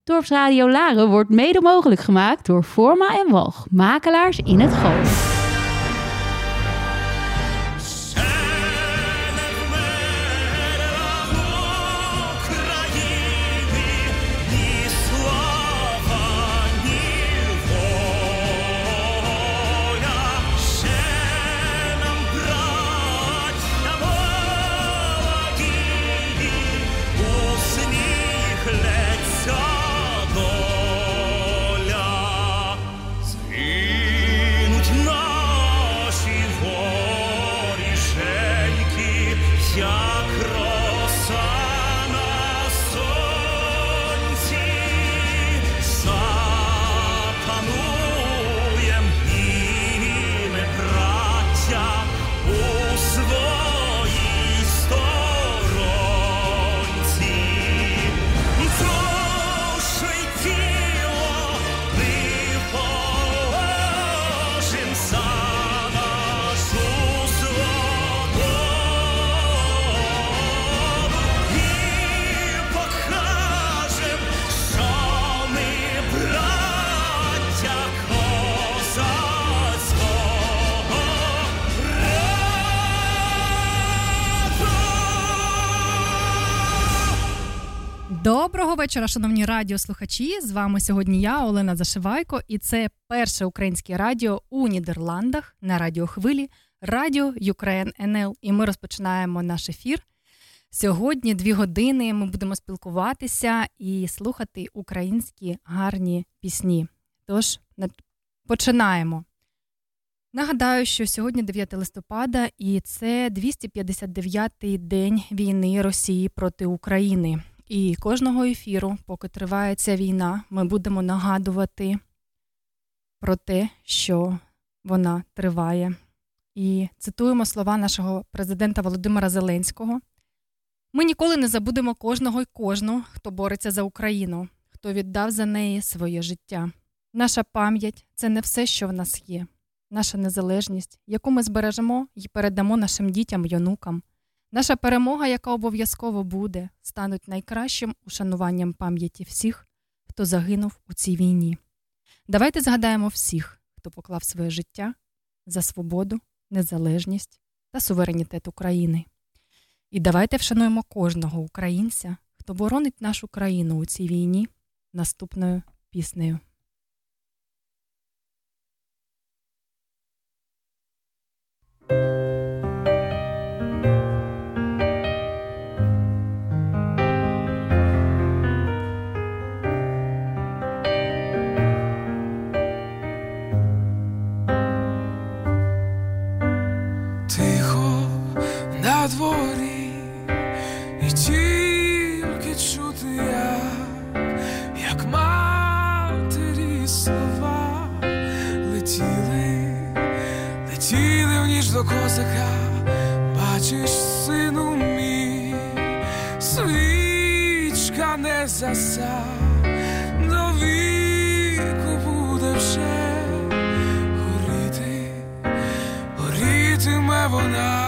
Dorpsradio Laren wordt mede mogelijk gemaakt door Forma en Walch, makelaars in het Gooi. Доброго вечора, шановні радіослухачі. З вами сьогодні я, Олена Зашивайко, і це перше українське радіо у Нідерландах на радіохвилі Радіо Ukraine НЛ. І ми розпочинаємо наш ефір. Сьогодні 2 години ми будемо спілкуватися і слухати українські гарні пісні. Тож, починаємо. Нагадаю, що сьогодні 9 листопада і це 259-й день війни Росії проти України. І кожного ефіру, поки триває ця війна, ми будемо нагадувати про те, що вона триває. І цитуємо слова нашого президента Володимира Зеленського. Ми ніколи не забудемо кожного й кожну, хто бореться за Україну, хто віддав за неї своє життя. Наша пам'ять – це не все, що в нас є. Наша незалежність, яку ми збережемо і передамо нашим дітям й онукам. Наша перемога, яка обов'язково буде, стануть найкращим ушануванням пам'яті всіх, хто загинув у цій війні. Давайте згадаємо всіх, хто поклав своє життя за свободу, незалежність та суверенітет України. І давайте вшануємо кожного українця, хто боронить нашу країну у цій війні, наступною піснею. На дворі і тільки чути як матері слова летіли в ніч до козака. Бачиш, сину мій, свічка не заса, до віку буде вже горітиме вона.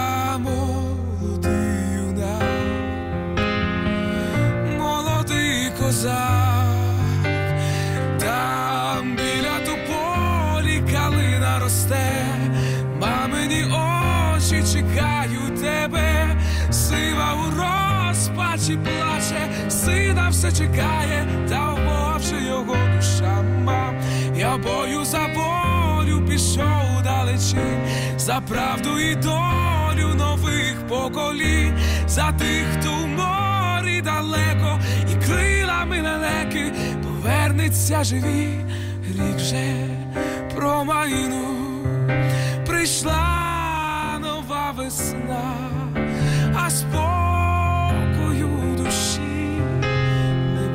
Там біля тополі калина росте, мамині очі чекають тебе, сива у розпачі плаче, сина все чекає, та вмовче його душа. Мам, я бою за волю пішов далечінь, за правду і долю нових поколінь, за тих, хто в морі далеко і крилами лелеки повернеться живі. Рік вже промайнув, прийшла нова весна, а спокою душі не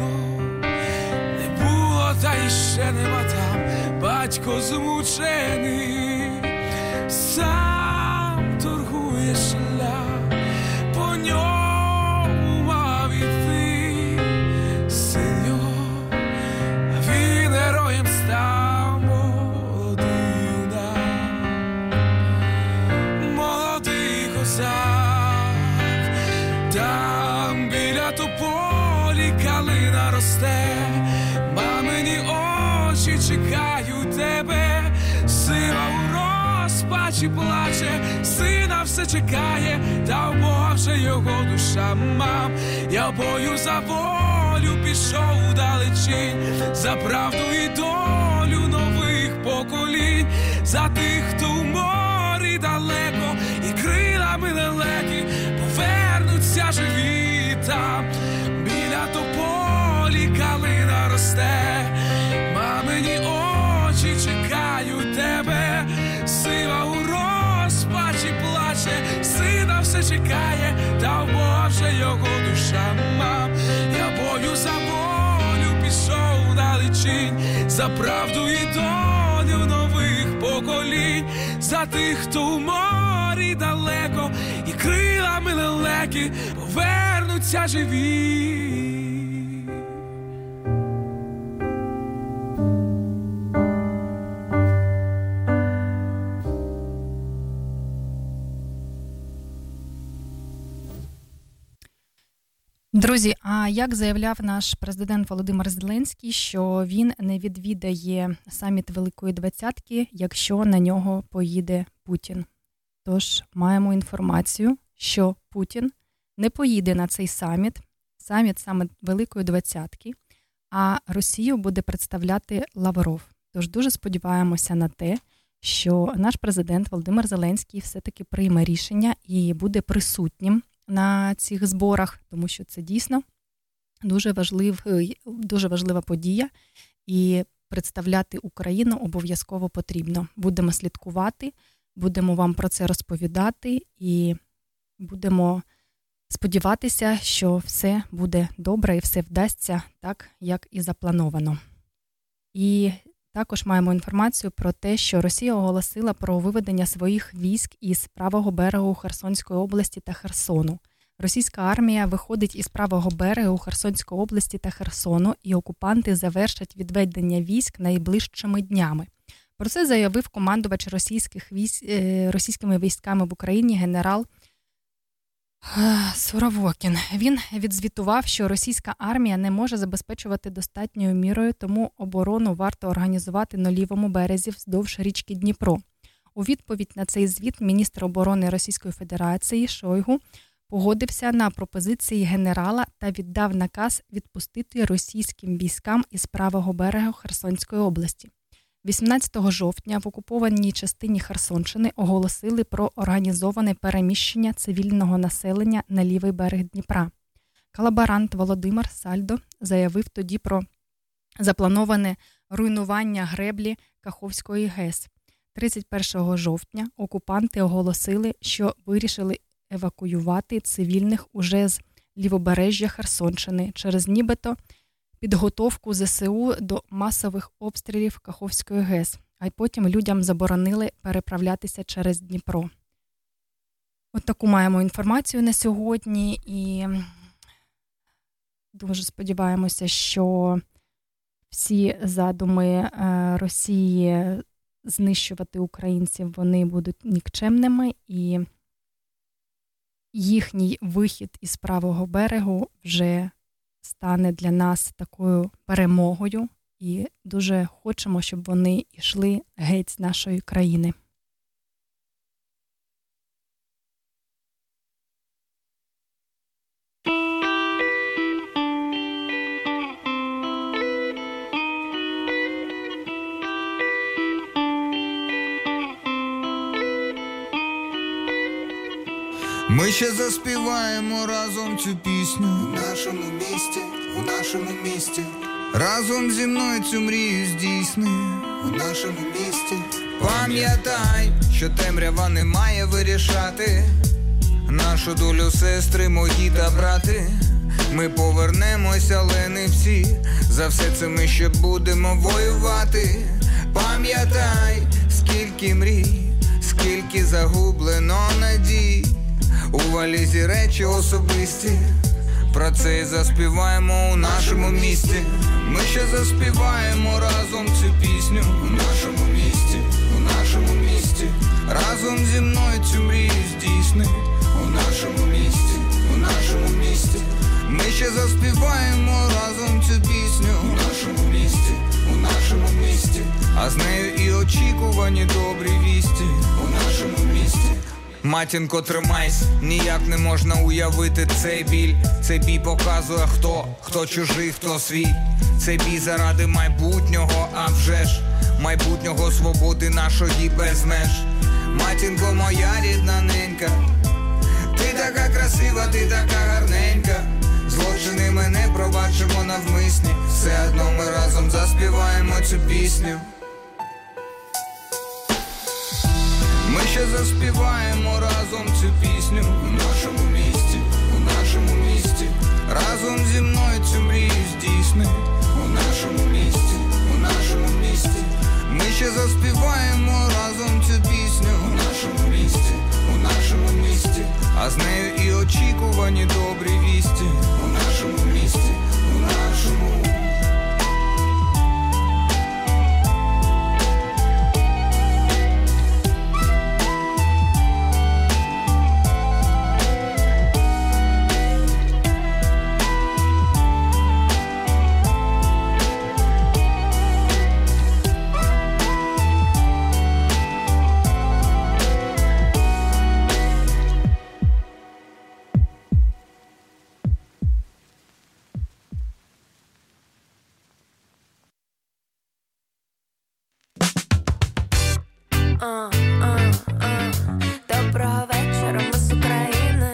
було, та й ще нема там. Батько змучений, сам торгує шлях, по ньому мав іти син його, а він героєм став. Молодий козак, там біля тополі калина росте, Мамині очі чекають тебе, сила у розпачі плаче, сина все чекає, та в Бога вже його душа. Мам, я в бою за волю пішов удалечінь, за правду і долю нових поколінь, за тих, хто в морі далеко і крилами лелеки повернуться живі там. Біля тополі калина росте, мамині очі чекають тебе, сила у розпачі плаче, сина все чекає, та в Бога вже його душа. Мам, я бою за волю пішов далечінь, за правду і долю нових поколінь, за тих, хто в морі далеко і крилами лелеки повернуться живі. Друзі, а як заявляв наш президент Володимир Зеленський, що він не відвідає саміт Великої Двадцятки, якщо на нього поїде Путін. Тож маємо інформацію, що Путін не поїде на цей саміт саме Великої Двадцятки, а Росію буде представляти Лавров. Тож дуже сподіваємося на те, що наш президент Володимир Зеленський все-таки прийме рішення і буде присутнім на цих зборах, тому що це дійсно дуже важлива подія, і представляти Україну обов'язково потрібно. Будемо слідкувати, будемо вам про це розповідати і будемо сподіватися, що все буде добре і все вдасться так, як і заплановано. І також маємо інформацію про те, що Росія оголосила про виведення своїх військ із правого берегу Херсонської області та Херсону. Російська армія виходить із правого берегу Херсонської області та Херсону, і окупанти завершать відведення військ найближчими днями. Про це заявив командувач російськими військами в Україні генерал Суровокін. Він відзвітував, що російська армія не може забезпечувати достатньою мірою, тому оборону варто організувати на лівому березі вздовж річки Дніпро. У відповідь на цей звіт міністр оборони Російської Федерації Шойгу погодився на пропозиції генерала та віддав наказ відпустити російським військам із правого берега Херсонської області. 18 жовтня в окупованій частині Херсонщини оголосили про організоване переміщення цивільного населення на лівий берег Дніпра. Колаборант Володимир Сальдо заявив тоді про заплановане руйнування греблі Каховської ГЕС. 31 жовтня окупанти оголосили, що вирішили евакуювати цивільних уже з лівобережжя Херсонщини через нібито підготовку ЗСУ до масових обстрілів Каховської ГЕС, а й потім людям заборонили переправлятися через Дніпро. От таку маємо інформацію на сьогодні і дуже сподіваємося, що всі задуми Росії знищувати українців, вони будуть нікчемними, і їхній вихід із правого берегу вже стане для нас такою перемогою, і дуже хочемо, щоб вони йшли геть з нашої країни. Ми ще заспіваємо разом цю пісню у нашому місті, у нашому місті. Разом зі мною цю мрію здійсни у нашому місті. Пам'ятай, що темрява не має вирішати нашу долю, сестри мої та брати. Ми повернемося, але не всі. За все це ми ще будемо воювати. Пам'ятай, скільки мрій, скільки загублено надій. У валізі речі особисті, про це і заспіваємо у нашому місті. Ми ще заспіваємо разом цю пісню у нашому місті, у нашому місті. Разом зі мною цю мрію здійсни у нашому місті, у нашому місті. Ми ще заспіваємо разом цю пісню у нашому місті, Матінко, тримайся, ніяк не можна уявити цей біль. Цей бій показує хто чужий, хто свій. Цей бій заради майбутнього, а вже ж майбутнього свободи нашої без меж. Матінко, моя рідна ненька, ти така красива, ти така гарненька. Злочини ми не пробачимо навмисні, все одно ми разом заспіваємо цю пісню. Ми ще заспіваємо разом цю пісню у нашому місті, у нашому місті. Разом зі мною цю мрію здійсни у нашому місті, у нашому місті. Ми ще заспіваємо разом цю пісню у нашому місті, у нашому місті. А з нею і очікувані добрі вісті у нашому місті, у нашому. Доброго вечора, ми з України.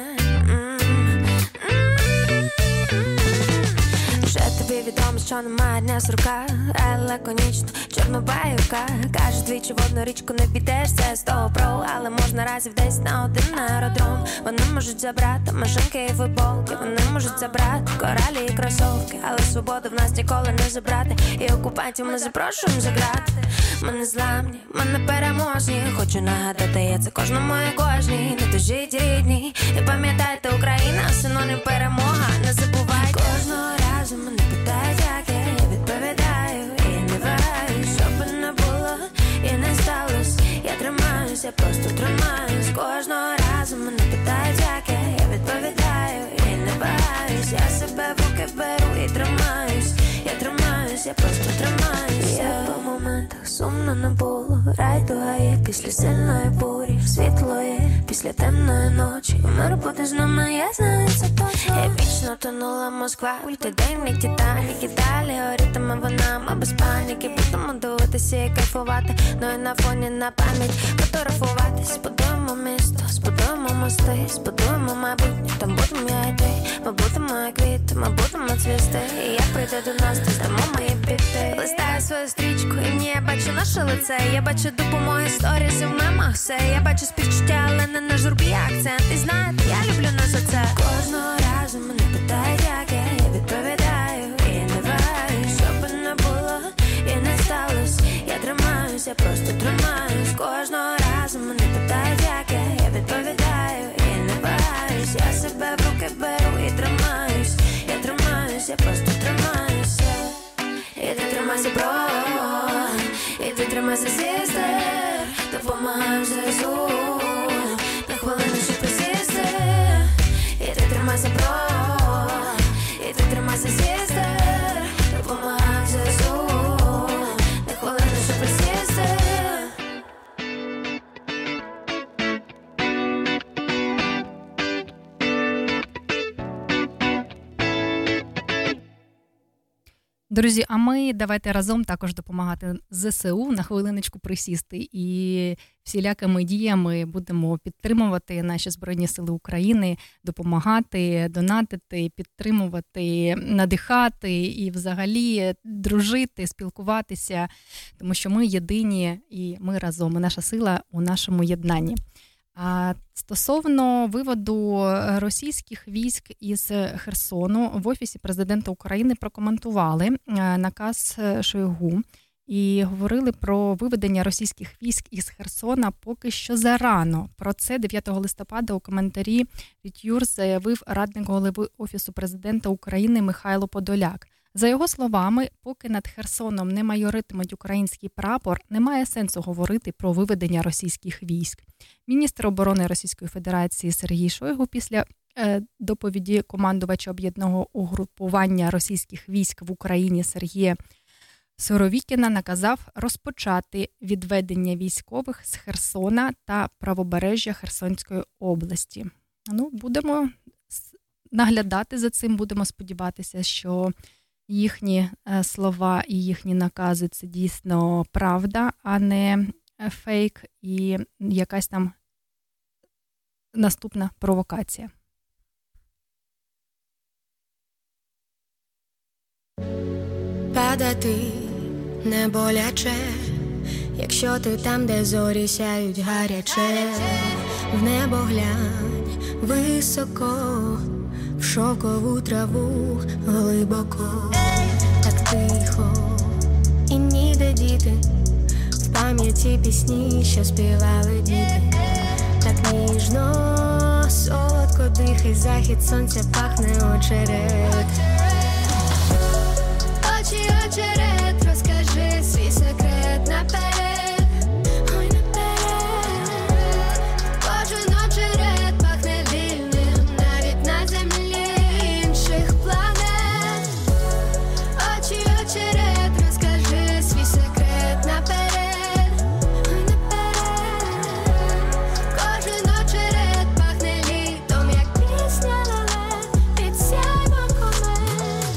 Вже тобі відомо, що немає дня сурка, але лаконічно, чорнобаюка. Каже, двічі в одну річку не підеш, це з того про, але можна разів десь на один аеродром. Вони можуть забрати машинки і футболки, вони можуть забрати коралі і кросовки, але свободу в нас ніколи не забрати, і окупантів ми запрошуємо заграти. Ми не зламні, ми не переможні. Хочу нагадати, я це кожному і кожній. Не тужіть, рідні, і пам'ятайте, Україна синонім перемога. Не забувайте. Кожного разу мене питають, як я відповідаю. І я не вагаюсь, що би не було і не сталося. Я тримаюсь, я просто тримаюсь. Кожного разу мене питають, як я відповідаю. І не вагаюсь, я себе в руки беру і тримаюсь. Я тримаюсь, я просто тримаюсь. Я по моментах сумно не було. Райдуга є після сильної бурі. Світло є після темної ночі. Мир буде з нами, я знаю це точно. Епічно тонула Москва, ультиденний Титанік. І далі горітиме вона, ми без паніки. Будемо дивитися і кайфувати. Ну і на фоні на пам'ять фотографуватись. Збудуємо місто, збудуємо мости, збудуємо майбутнє, там будемо я і ти. Ми будемо як квіти, ми будемо цвісти. І як прийде до нас, то здамо мої піти. Листаю свою стрічку, і в ній я бачу наше лице. Я бачу допомоги сторіс і в мемах все. Я бачу співчуття, але не на журбі акцент. І знаєте, я люблю нас за це. Кожного разу мене питають, як я відповідаю. І я не вагаюсь, що би не було і не сталося. Я тримаюсь, я просто тримаюсь. Кожного разу мене питають, як я відповідаю. І я не вагаюсь, я себе в руки беру і тримаюсь. Я тримаюсь, я просто тримаюся. І ти тримайся, бро, і ти тримайся, сестер. Допомагаємо ЗСУ, на хвилину ще присісти. І ти тримайся, бро, і ти тримайся, сестер. Допомагаємо ЗСУ, на хвилину ще присісти. Друзі, а ми давайте разом також допомагати ЗСУ, на хвилиночку присісти, і всілякими діями будемо підтримувати наші Збройні Сили України, допомагати, донатити, підтримувати, надихати і взагалі дружити, спілкуватися, тому що ми єдині і ми разом, і наша сила у нашому єднанні. А стосовно виводу російських військ із Херсону, в Офісі президента України прокоментували наказ Шойгу і говорили про виведення російських військ із Херсона поки що зарано. Про це 9 листопада у коментарі від заявив радник голови Офісу президента України Михайло Подоляк. За його словами, поки над Херсоном не майоритимуть український прапор, немає сенсу говорити про виведення російських військ. Міністр оборони Російської Федерації Сергій Шойгу після доповіді командувача об'єднаного угрупування російських військ в Україні Сергія Суровікіна наказав розпочати відведення військових з Херсона та правобережжя Херсонської області. Будемо наглядати за цим, будемо сподіватися, що їхні слова і їхні накази – це дійсно правда, а не фейк і якась там наступна провокація. Падати не боляче, якщо ти там, де зорі сяють гаряче. В небо глянь високо, в шовкову траву глибоко. Так тихо і ніде діти, в пам'яті пісні, що співали діти. Так ніжно, солодко дихай, захід сонця пахне очерет. Очі очерет, розкажи свій секрет наперед. Ой, наперед. Кожен очерет пахне вільним, навіть на землі інших планет. Очі очерет, розкажи свій секрет наперед. Ой, наперед. Кожен очерет пахне літом, як пісня леле під сяйвом комет.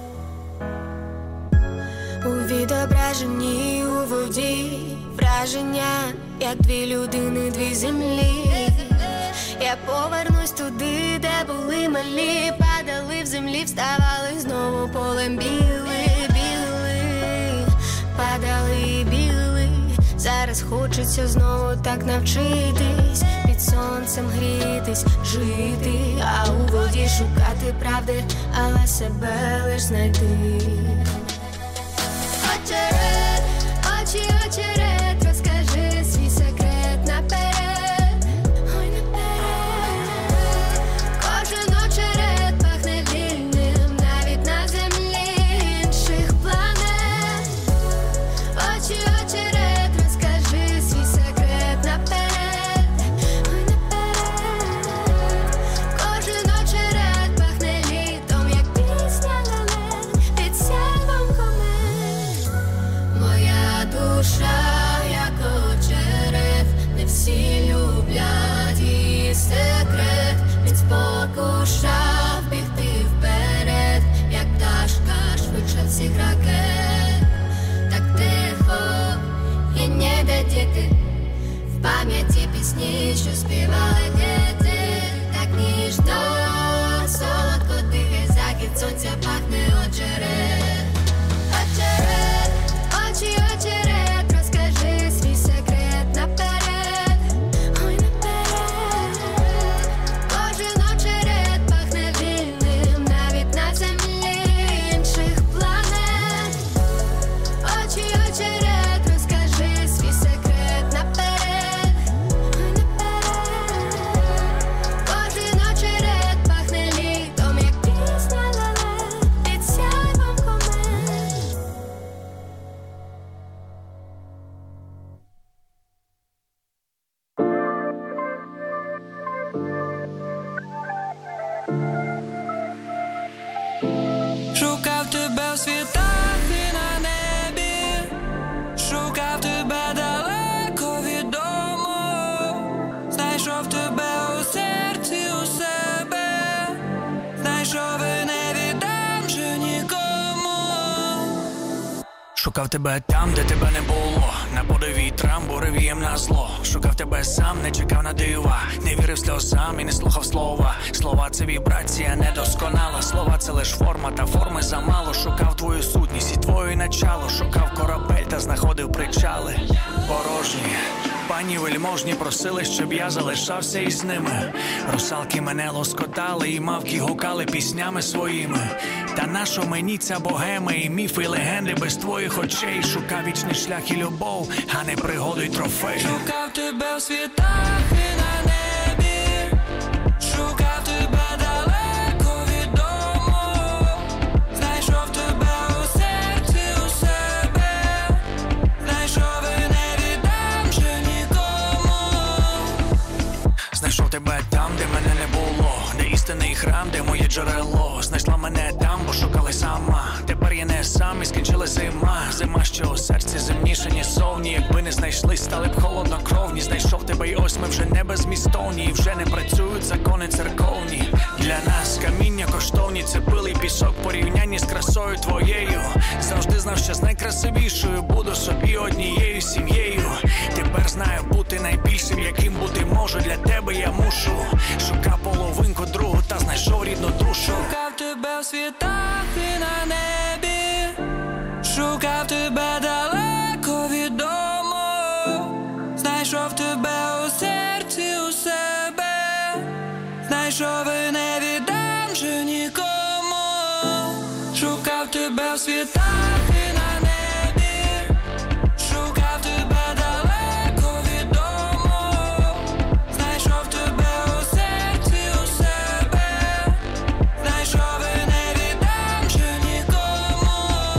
У відображенні у воді враження, як дві людини, дві землі. Я повернусь туди, де були малі, падали в землі, вставали знову полем біли, біли, падали і біли. Зараз хочеться знову так навчитись, під сонцем грітись, жити, а у воді шукати правди, але себе лиш знайти. Очерет, очі очерет, розкажи свій секрет наперед. Ой, наперед. Кожен очерет пахне вільним, навіть на землі інших планет. Очі очерет, розкажи свій секрет наперед. Ой, наперед. Кожен очерет пахне літом, як пісня леле під сяйвом комет. Моя душа, як очерет, не всі люблять її секрет. Він спокушав бігти вперед, як пташка швидше всіх ракет. Так тихо і ніде діти, в пам'яті пісні, що співали діти. Так ніжно, солодко дихай, захід сонця пахне очерет. Очерет, очі очерет, розкажи свій секрет наперед. Ой, наперед. Кожен очерет пахне вільним, навіть на землі інших планет. Очі очерет, розкажи свій секрет наперед. Ой, наперед. Кожен очерет пахне літом, як пісня леле під сяйвом комет. Шукав тебе в світах і на небі, шукав тебе далеко від дому, знайшов тебе у серці у себе, знайшов і не віддам вже нікому. Шукав тебе там, де тебе не було, на подив вітрам, буревієм на зло. Шукав тебе сам, не чекав на дива, не вірив сльозам і не слухав слова. Слова — це вібрація недосконала, слова — це лиш форма, та форми замало. Шукав твою сутність і твоє начало, шукав корабель та знаходив причали порожні. Пані вельможні просили, щоб я залишався із ними. Русалки мене лоскотали і мавки гукали піснями своїми. Та нащо мені ця богема і міфи, і легенди без твоїх очей? Шукав вічний шлях і любов, а не пригоду й трофей. Шукав тебе в світах і на небі, шукав тебе далеко від дому, знайшов тебе у серці у себе, знайшов і не віддам вже нікому. Знайшов тебе там, де мене не було, де істинний храм, де моє джерело. Знайшла мене там, бо шукала сама. Тебе тепер я не сам і скінчила зима, що у серці земніше, ніж совні. Якби не знайшли, стали б холоднокровні. Знайшов тебе і ось ми вже не безмістовні. І вже не працюють закони церковні. Для нас каміння коштовні, це пил і пісок в порівнянні з красою твоєю. Завжди знав, що з найкрасивішою буду собі однією сім'єю. Тепер знаю бути найбільшим, яким бути можу. Для тебе я мушу. Шукав половинку другу та знайшов рідну душу. Шукав тебе в світах і на небі, шукав тебе далеко від дому, знайшов тебе у серці у себе, знайшов і не віддам же нікому. Шукав тебе в світах і на небі, шукав тебе далеко від дому, знайшов тебе у серці у себе, знайшов і не віддам же нікому.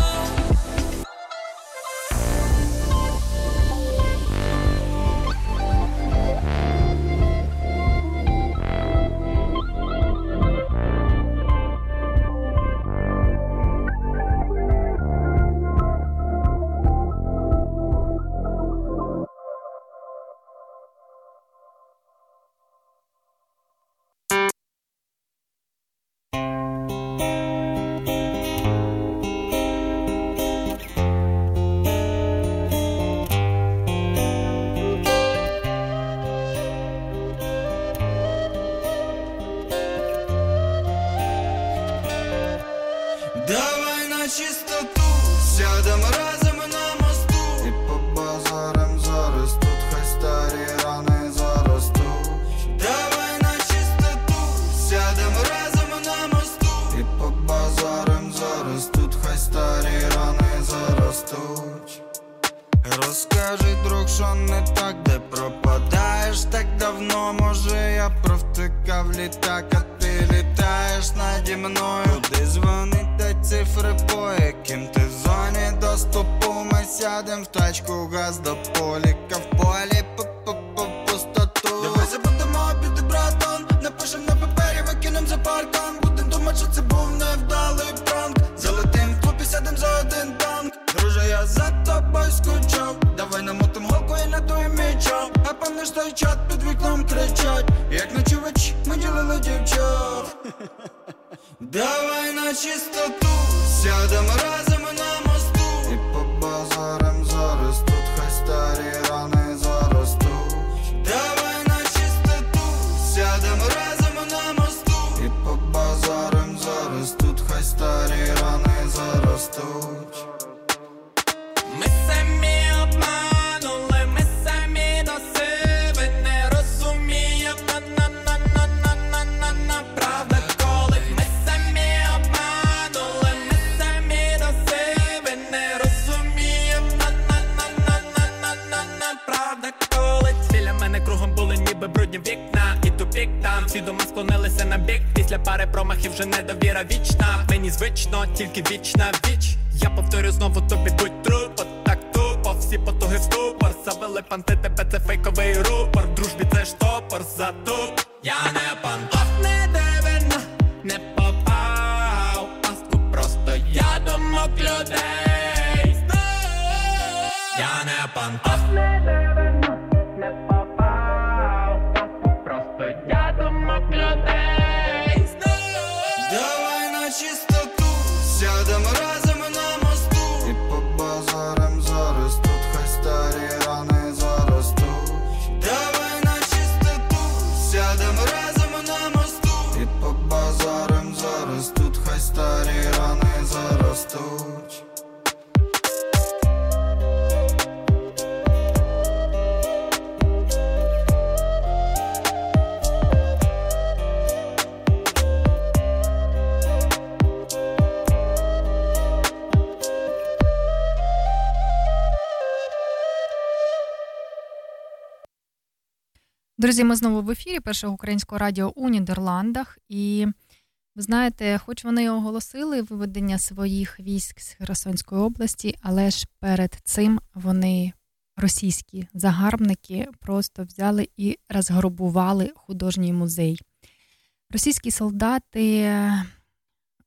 Давай на чистоту, сядем разом на мосту і побазарим зараз тут, хай старі рани заростуть. Давай на чистоту, сядем разом на мосту і побазарим зараз тут, хай старі рани заростуть. Розкажи, друг, що не так, де пропадаєш так давно. Може я провтикав літак, а ти літаєш наді мною. Куди дзвонить та цифри, по яким ти в зоні доступу. Ми сядем в тачку, газ до поліка, в полі пустоту. Давай забудемо обіди, братан, напишем на папері, викинем за паркан. Будем думать, що це був невдалий пранк. Залетим в клуб і сядем за один танк. Друже, я за тобою скучав. Давай намотим голку і надуєм мічом. А пам'ятаєш той чат, під вікном кричать, як ночувачі ми ділили дівчат. Давай на чистоту, сядем разом на мосту і побазарим зараз тут, хай старі рани заростуть. Давай на чистоту, сядем разом на мосту і побазарим зараз тут, хай старі рани заростуть. Ми самі обманули, ми самі до себе не розуміємо, на правда, коли ми самі обманули, ми самі до себе не розуміємо, на правда, коли біля мене кругом були ніби брудні вікна і тупік там, всі дома склонилися на бік, після пари промахів вже недовіра вічна, мені звично, тільки вічна віч. Я повторю знову тобі, будь трупо, так тупо, всі потуги в ступор. Завели панти, тебе це фейковий рупор. В дружбі це штопор, затуп. Я не пантоф, не дивина, не попав в пастку, просто я думок людей. Я не пантоф, не дивина, не попав в пастку, просто я думок людей. Давай на чистоту, сядем разом на мосту і побазарим зараз тут, хай старі рани заростуть. Давай на чистоту, сядем разом на мосту і побазарим зараз тут, хай старі рани заростуть. Друзі, ми знову в ефірі Першого українського радіо у Нідерландах. І ви знаєте, хоч вони оголосили виведення своїх військ з Херсонської області, але ж перед цим вони, російські загарбники, просто взяли і розграбували художній музей. Російські солдати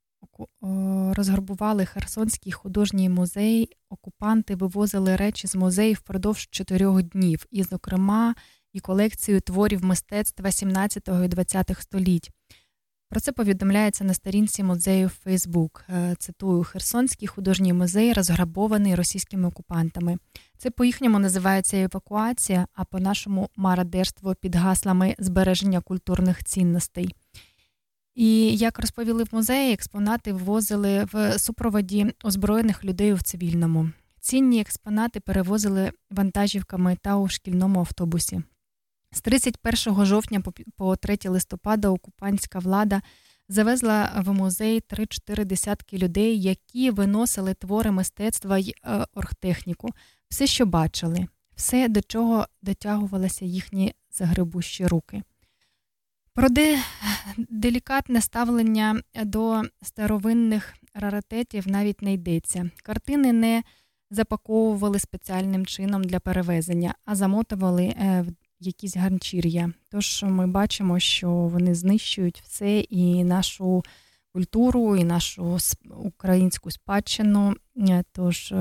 розграбували Херсонський художній музей. Окупанти вивозили речі з музею впродовж 4 днів, і, зокрема, і колекцію творів мистецтва 17 і 20 століть. Про це повідомляється на сторінці музею в Фейсбук. Цитую: «Херсонський художній музей розграбований російськими окупантами. Це по-їхньому називається евакуація, а по-нашому мародерство під гаслами збереження культурних цінностей». І, як розповіли в музеї, експонати ввозили в супроводі озброєних людей у цивільному. Цінні експонати перевозили вантажівками та у шкільному автобусі. З 31 жовтня по 3 листопада окупантська влада завезла в музей 3-4 десятки людей, які виносили твори мистецтва й оргтехніку. Все, що бачили, все, до чого дотягувалися їхні загребущі руки. Про делікатне ставлення до старовинних раритетів навіть не йдеться. Картини не запаковували спеціальним чином для перевезення, а замотували в якісь ганчір'я. Тож ми бачимо, що вони знищують все, і нашу культуру, і нашу українську спадщину. Тож,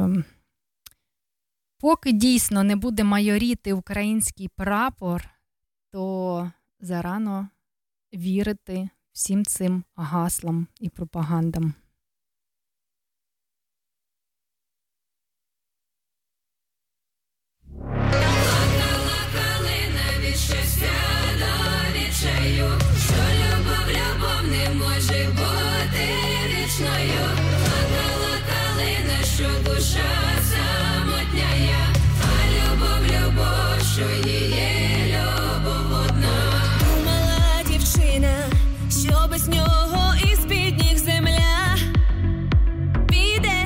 поки дійсно не буде майоріти український прапор, то зарано вірити всім цим гаслам і пропагандам. Що любов не може бути вічною. Плакала калина, що душа самотняя, а любов, що її любов одна. Думала дівчина, що без нього із-під ніг земля піде,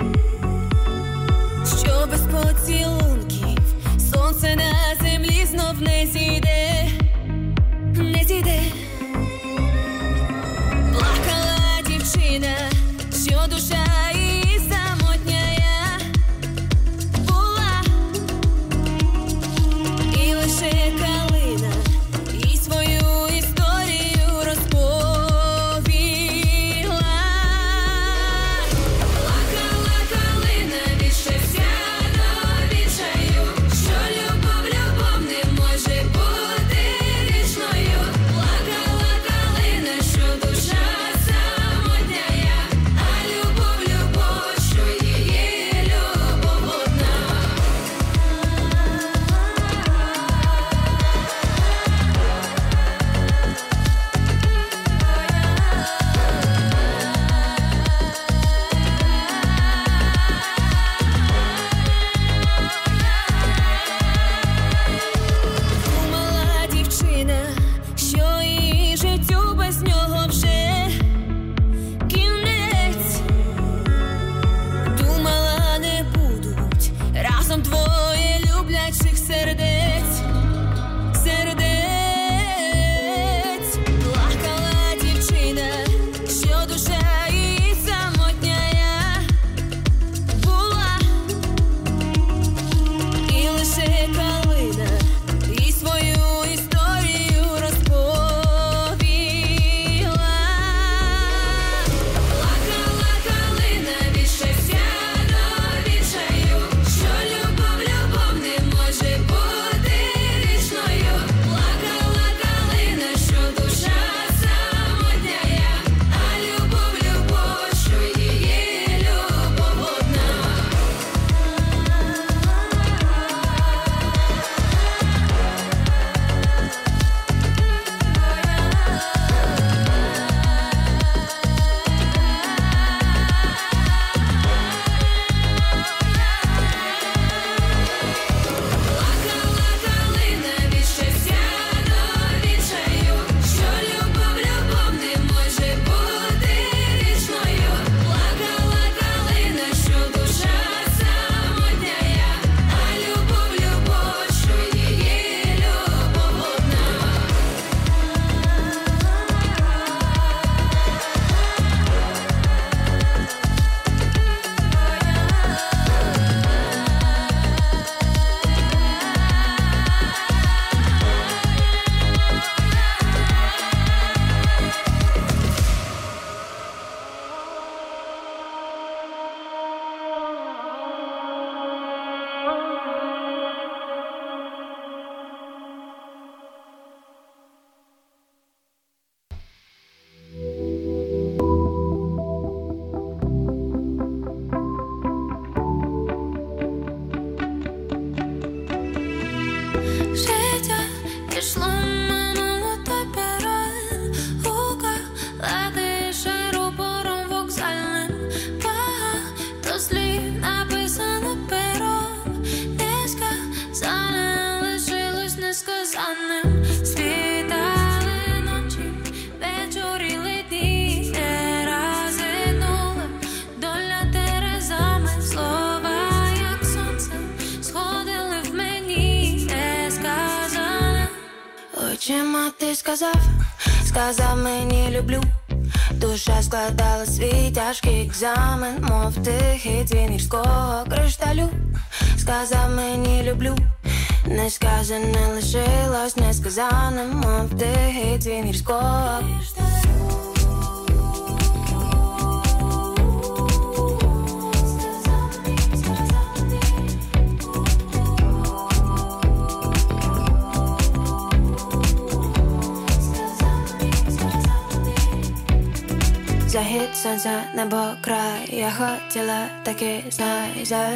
що без поцілунків сонце на землі знов не зійде. Не зійде. Плакала дівчина, що душа її самотняя була, і лише калина їй свою історію розповіла. Плакала калина від щастя до відчаю, що любов не може бути Очима ти сказав мені люблю. Душа складала свій тяжкий екзамен, мов тихий дзвін гірського кришталю. Сказав мені люблю, несказане лишилось несказаним, мов тихий дзвін гірського кришталю. Захід сонця, небо, край, я хотіла таки, знай,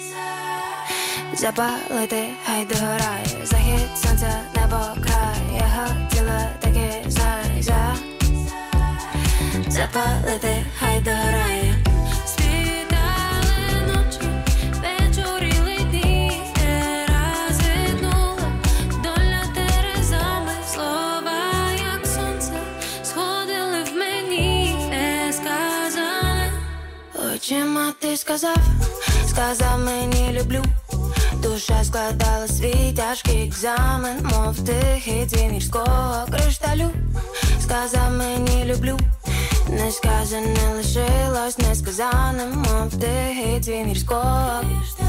запалити, хай догорає. Захід сонця, небо, край, я хотіла таки, знай, запалити, хай догорає. Очима ти сказав мені люблю. Душа складала свій тяжкий екзамен, мов тихий дзвін гірського кришталю. Сказав мені люблю, несказане лишилось несказаним, мов тихий дзвін гірського кришталю.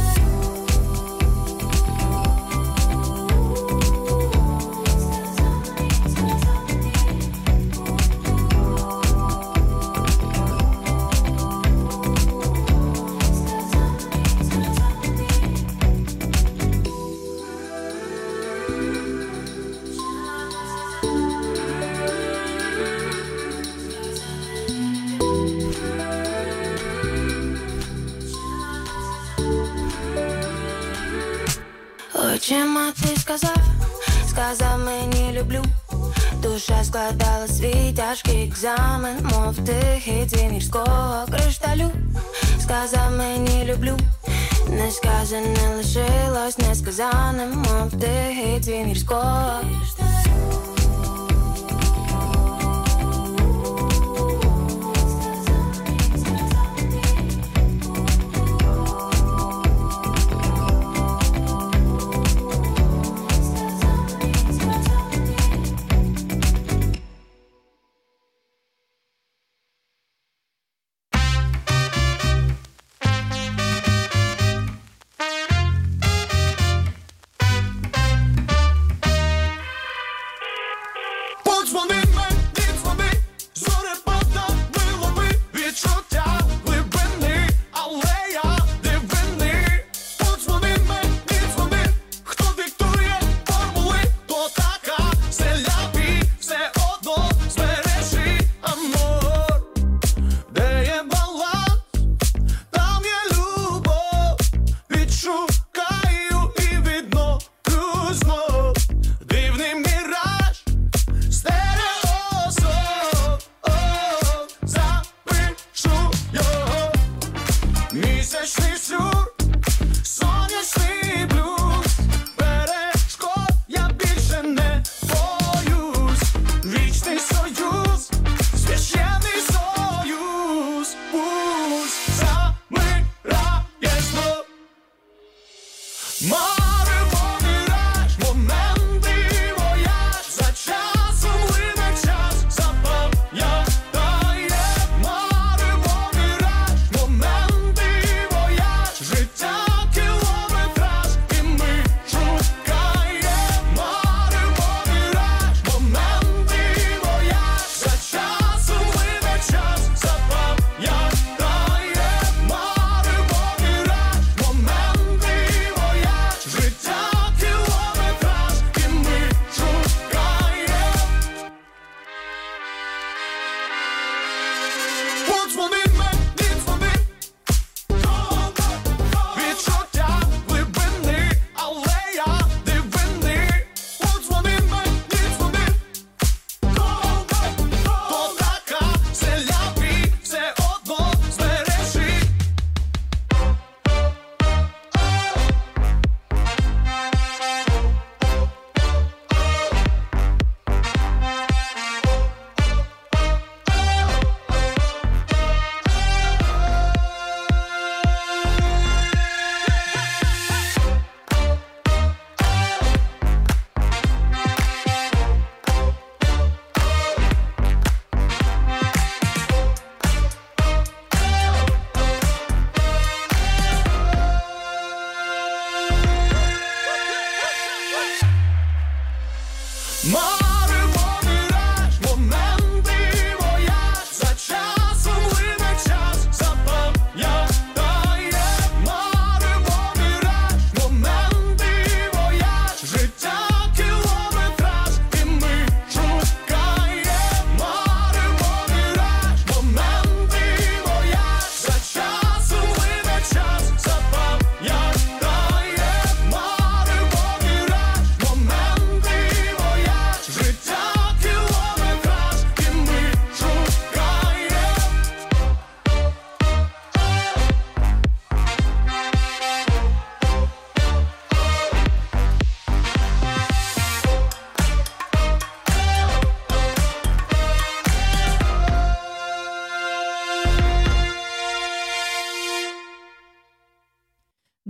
Очима ти сказав мені люблю. Душа складала свій тяжкий екзамен, мов тихий дзвін гірського кришталю. Сказав мені люблю, несказане лишилось несказаним, мов тихий дзвін гірського кришталю.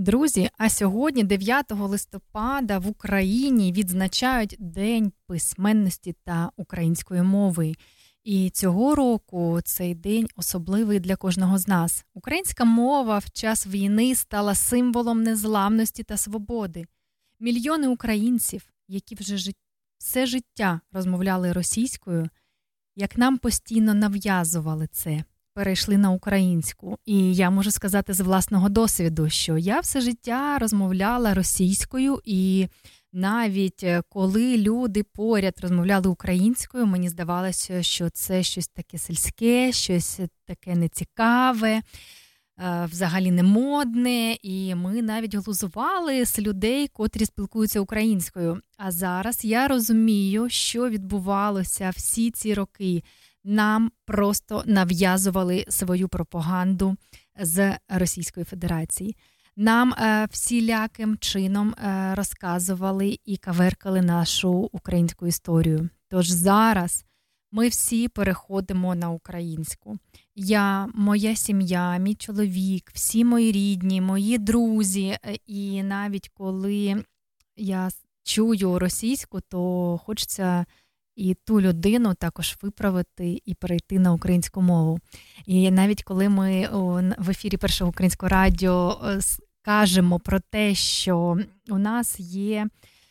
Друзі, а сьогодні, 9 листопада, в Україні відзначають День письменності та української мови. І цього року цей день особливий для кожного з нас. Українська мова в час війни стала символом незламності та свободи. Мільйони українців, які вже все життя розмовляли російською, як нам постійно нав'язували це, перейшли на українську. І я можу сказати з власного досвіду, що я все життя розмовляла російською, і навіть коли люди поряд розмовляли українською, мені здавалося, що це щось таке сільське, щось таке нецікаве, взагалі не модне, і ми навіть глузували з людей, котрі спілкуються українською. А зараз я розумію, що відбувалося всі ці роки. Нам просто нав'язували свою пропаганду з Російської Федерації. Нам всіляким чином розказували і каверкали нашу українську історію. Тож зараз ми всі переходимо на українську. Я, моя сім'я, мій чоловік, всі мої рідні, мої друзі. І навіть коли я чую російську, то хочеться і ту людину також виправити і перейти на українську мову. І навіть коли ми в ефірі Першого українського радіо кажемо про те, що у нас є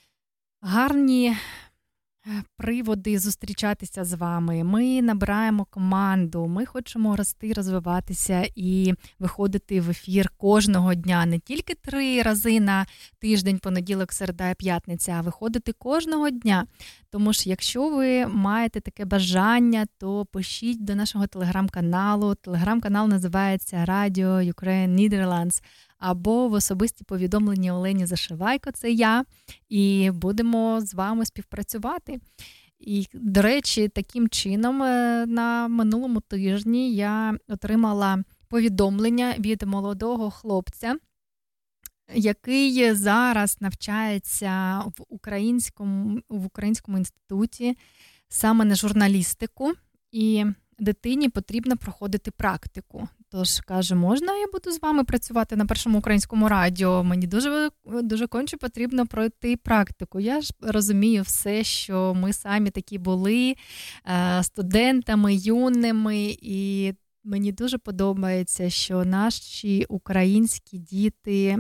гарні приводи зустрічатися з вами, ми набираємо команду, ми хочемо рости, розвиватися і виходити в ефір кожного дня, не тільки 3 рази на тиждень, понеділок, середа і п'ятниця, а виходити кожного дня. Тому що якщо ви маєте таке бажання, то пишіть до нашого телеграм-каналу. Телеграм-канал називається Radio Ukraine Netherlands. Або в особисті повідомлення Олені Зашивайко, це я, і будемо з вами співпрацювати. І, до речі, таким чином на минулому тижні я отримала повідомлення від молодого хлопця, який зараз навчається в українському інституті саме на журналістику, і дитині потрібно проходити практику. Тож, каже, можна я буду з вами працювати на Першому українському радіо? Мені дуже конче потрібно пройти практику. Я ж розумію все, що ми самі такі були студентами, юними, і мені дуже подобається, що наші українські діти,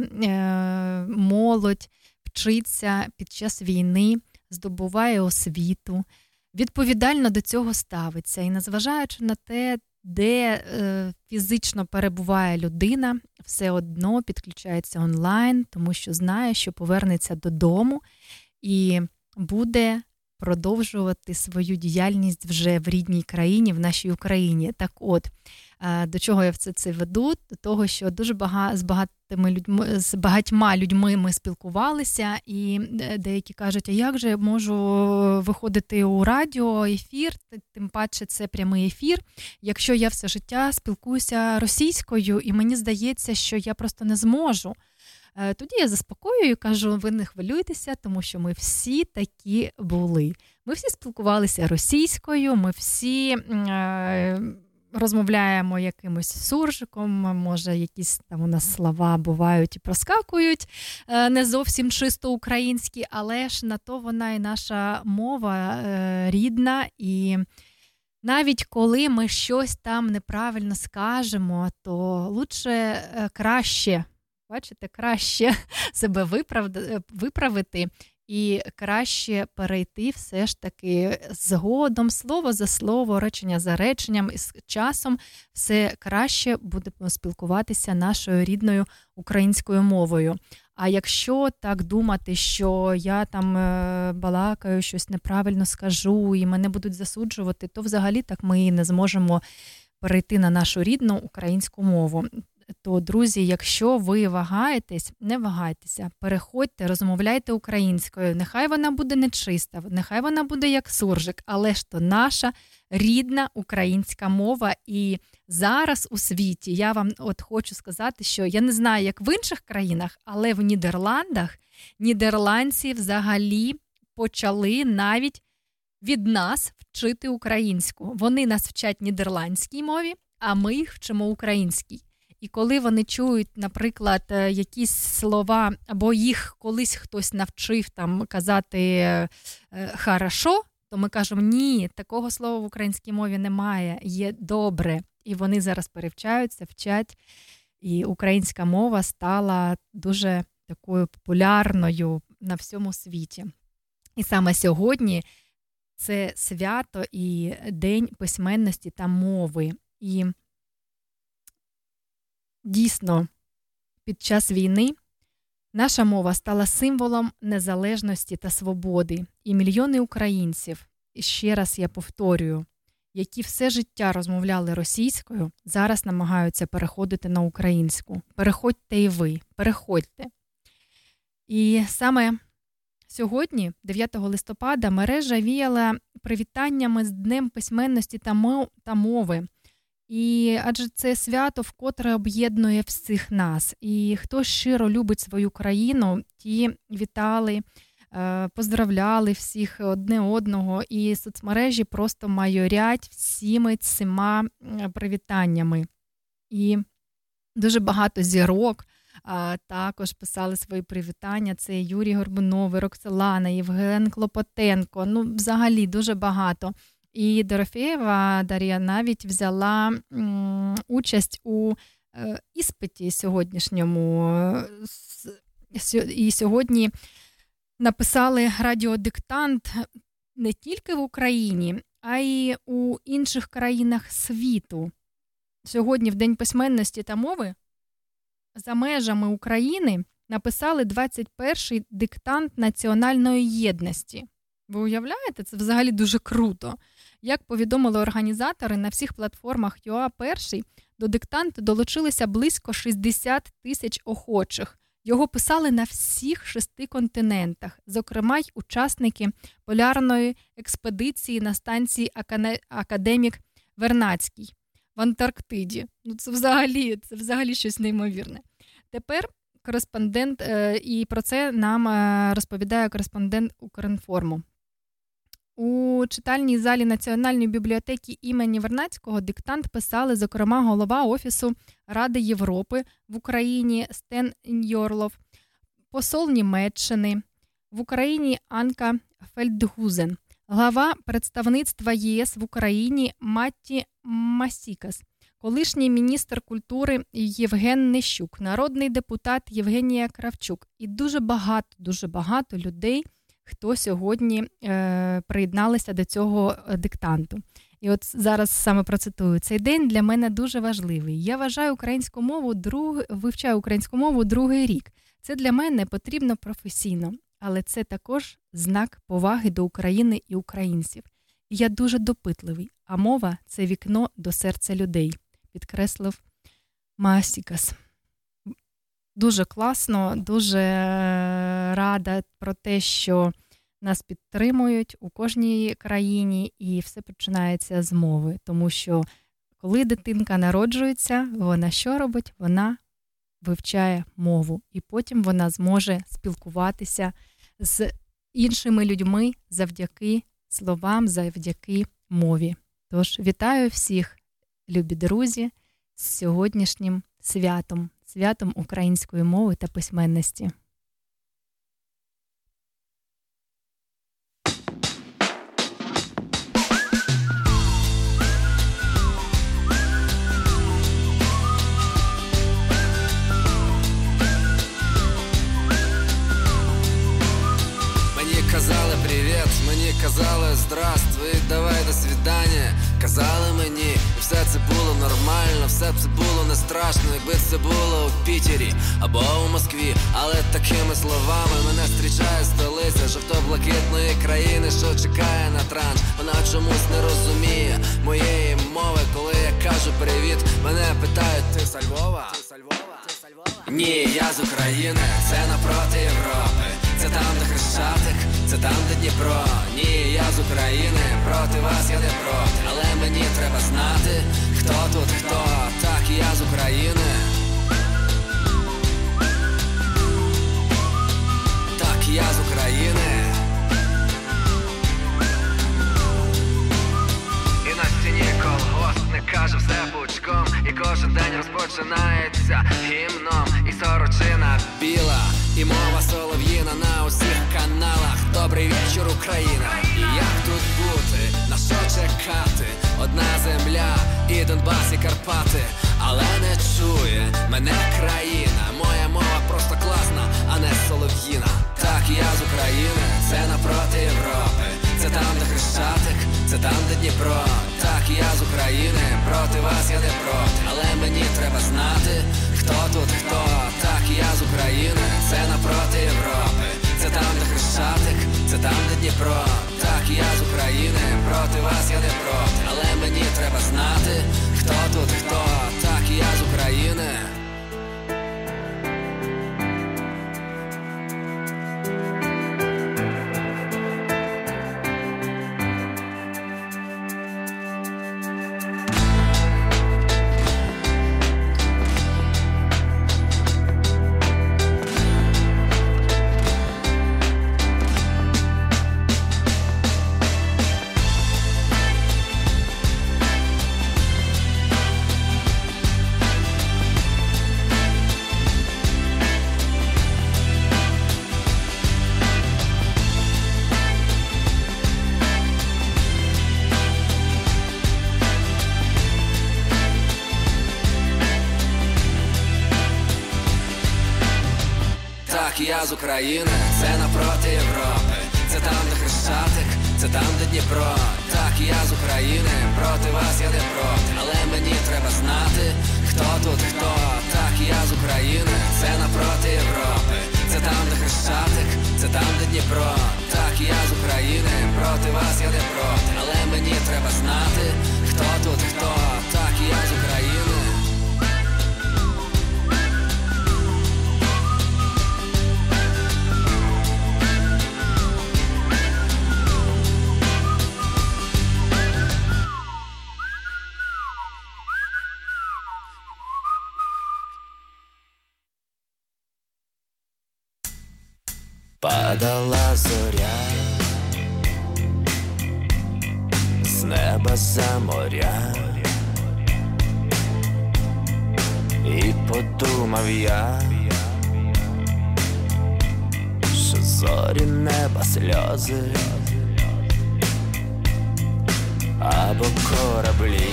молодь вчиться під час війни, здобуває освіту, відповідально до цього ставиться. І незважаючи на те, де фізично перебуває людина, все одно підключається онлайн, тому що знає, що повернеться додому і буде продовжувати свою діяльність вже в рідній країні, в нашій Україні. Так от, до чого я все це веду? До того, що дуже з багатьма людьми ми спілкувалися, і деякі кажуть, а як же я можу виходити у радіоефір, тим паче це прямий ефір, якщо я все життя спілкуюся російською, і мені здається, що я просто не зможу. Тоді я заспокоюю і кажу, ви не хвилюйтеся, тому що ми всі такі були. Ми всі спілкувалися російською, ми всі розмовляємо якимось суржиком, може якісь там у нас слова бувають і проскакують, не зовсім чисто українські, але ж на то вона і наша мова рідна, і навіть коли ми щось там неправильно скажемо, то краще себе виправити і краще перейти все ж таки згодом, слово за слово, речення за реченням, і з часом все краще будемо спілкуватися нашою рідною українською мовою. А якщо так думати, що я там балакаю, щось неправильно скажу і мене будуть засуджувати, то взагалі так ми і не зможемо перейти на нашу рідну українську мову. То, друзі, якщо ви вагаєтесь, не вагайтеся, переходьте, розмовляйте українською. Нехай вона буде нечиста, нехай вона буде як суржик, але ж то наша рідна українська мова. І зараз у світі, я вам хочу сказати, що я не знаю, як в інших країнах, але в Нідерландах нідерландці взагалі почали навіть від нас вчити українську. Вони нас вчать нідерландській мові, а ми їх вчимо українській. І коли вони чують, наприклад, якісь слова, або їх колись хтось навчив там казати «хорошо», то ми кажемо, ні, такого слова в українській мові немає, є «добре». І вони зараз перевчаються, вчать, і українська мова стала дуже такою популярною на всьому світі. І саме сьогодні це свято і День письменності та мови. І дійсно, під час війни наша мова стала символом незалежності та свободи. І мільйони українців, і ще раз я повторюю, які все життя розмовляли російською, зараз намагаються переходити на українську. Переходьте і ви, переходьте. І саме сьогодні, 9 листопада, мережа віяла привітаннями з Днем письменності та мови. І адже це свято вкотре об'єднує всіх нас. І хто щиро любить свою країну, ті вітали, поздравляли всіх одне одного. І соцмережі просто майорять всіми цими привітаннями. І дуже багато зірок також писали свої привітання. Це Юрій Горбунов, Роксолана, Євген Клопотенко. Ну, взагалі, дуже багато. І Дорофєєва Дар'я навіть взяла участь у іспиті сьогоднішньому. І сьогодні написали радіодиктант не тільки в Україні, а й у інших країнах світу. Сьогодні, в День письменності та мови, за межами України написали 21-й диктант національної єдності. Ви уявляєте? Це взагалі дуже круто. Як повідомили організатори, на всіх платформах ЮА-1 до диктанту долучилися близько 60 тисяч охочих. Його писали на всіх 6 континентах, зокрема й учасники полярної експедиції на станції Академік Вернадський в Антарктиді. Ну, це взагалі щось неймовірне. Тепер кореспондент, і про це нам розповідає кореспондент Укрінформу. У читальній залі Національної бібліотеки імені Вернадського диктант писали, зокрема, голова Офісу Ради Європи в Україні Стен Йорлов, посол Німеччини в Україні Анка Фельдгузен, глава представництва ЄС в Україні Матті Масікас, колишній міністр культури Євген Нищук, народний депутат Євгенія Кравчук і дуже багато людей, хто сьогодні приєдналися до цього диктанту. І от зараз саме процитую. «Цей день для мене дуже важливий. Я вивчаю українську мову другий рік. Це для мене потрібно професійно, але це також знак поваги до України і українців. І я дуже допитливий, а мова – це вікно до серця людей», підкреслив Масікас. Дуже класно, дуже рада про те, що нас підтримують у кожній країні, і все починається з мови. Тому що коли дитинка народжується, вона що робить? Вона вивчає мову. І потім вона зможе спілкуватися з іншими людьми завдяки словам, завдяки мові. Тож вітаю всіх, любі друзі, з сьогоднішнім святом української мови та письменності. Казали привіт, мені казали здравствуй, давай до свидання. Казали мені, і все це було нормально, все це було не страшно, якби це було у Пітері або у Москві. Але такими словами мене зустрічає столиця жовто-блакитної країни, що чекає на транш. Вона чомусь не розуміє моєї мови, коли я кажу привіт, мене питають: ти з Львова? Ні, я з України, це напроти Європи. Це там, де Хрещатик, це там, де Дніпро. Ні, я з України, проти вас я не проти. Але мені треба знати, хто тут хто. Так, я з України. Так, я з України. І на стіні колгоспник каже все пучком. І кожен день розпочинає і мова солов'їна на усіх каналах. Добрий вечір, Україна. І як тут бути, на що чекати? Одна земля, і Донбас, і Карпати. Але не чує мене країна. Моя мова просто класна, а не солов'їна. Так, я з України, це напроти Європи. Це там, де Хрещатик, це там, де Дніпро. Так, я з України, проти вас я не проти. Але мені треба знати, хто тут хто. Так, я з України, це напроти Європи. Це там, де Хрещатик, це там, де Дніпро. Так, я з України, проти вас я не проти. Але мені треба знати, хто тут хто. Так, я з України. Я з України, це напроти Європи. Це там, де Хрещатик, це там, де Дніпро. Так, я з України, проти вас я не проти. Але мені треба знати, хто тут хто. Так, я з України, це напроти Європи. Це там, де Хрещатик, це там, де Дніпро. Так, я з України, проти вас я не проти. Але мені треба знати, хто тут хто. Так, я з України. Падала зоря з неба за моря, і подумав я, що зорі неба сльози або кораблі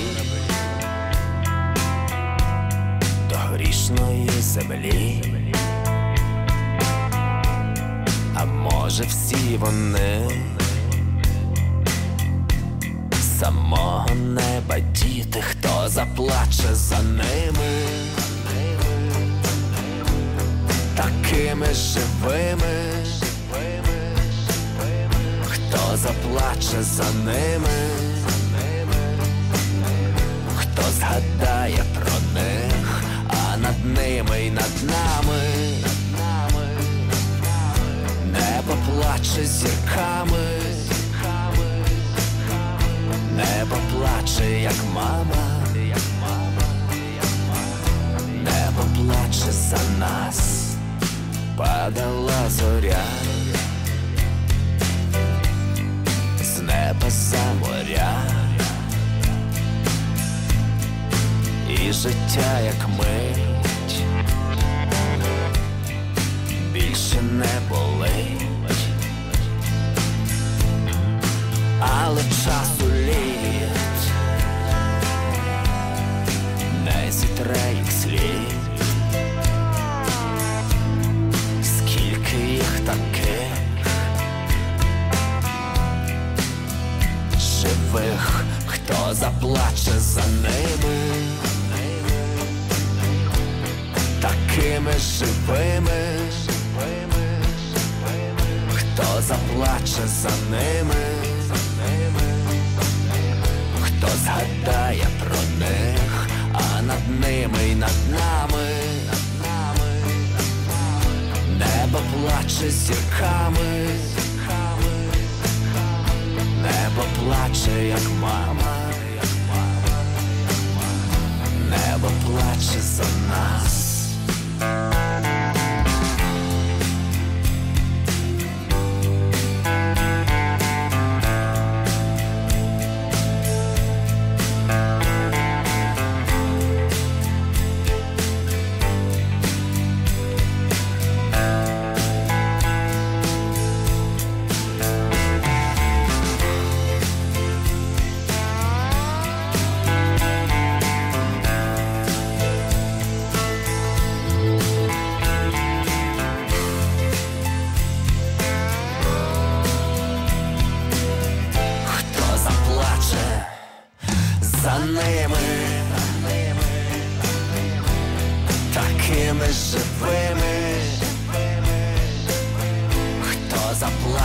до грішної землі. А може всі вони самого неба діти, хто заплаче за ними, такими живими, хто заплаче за ними, хто згадає про них, а над ними й над нами небо плаче зірками, небо плаче, як мама, небо плаче за нас. Падала зоря з неба за моря, і життя, як мить, більше не болить, але часу літ не зітре їх слід. Скільки їх таких живих, хто заплаче за ними, такими живими, хто заплаче за ними, хто згадає про них, а над ними й над нами небо плаче зірками, небо плаче, як мама, небо плаче за нас.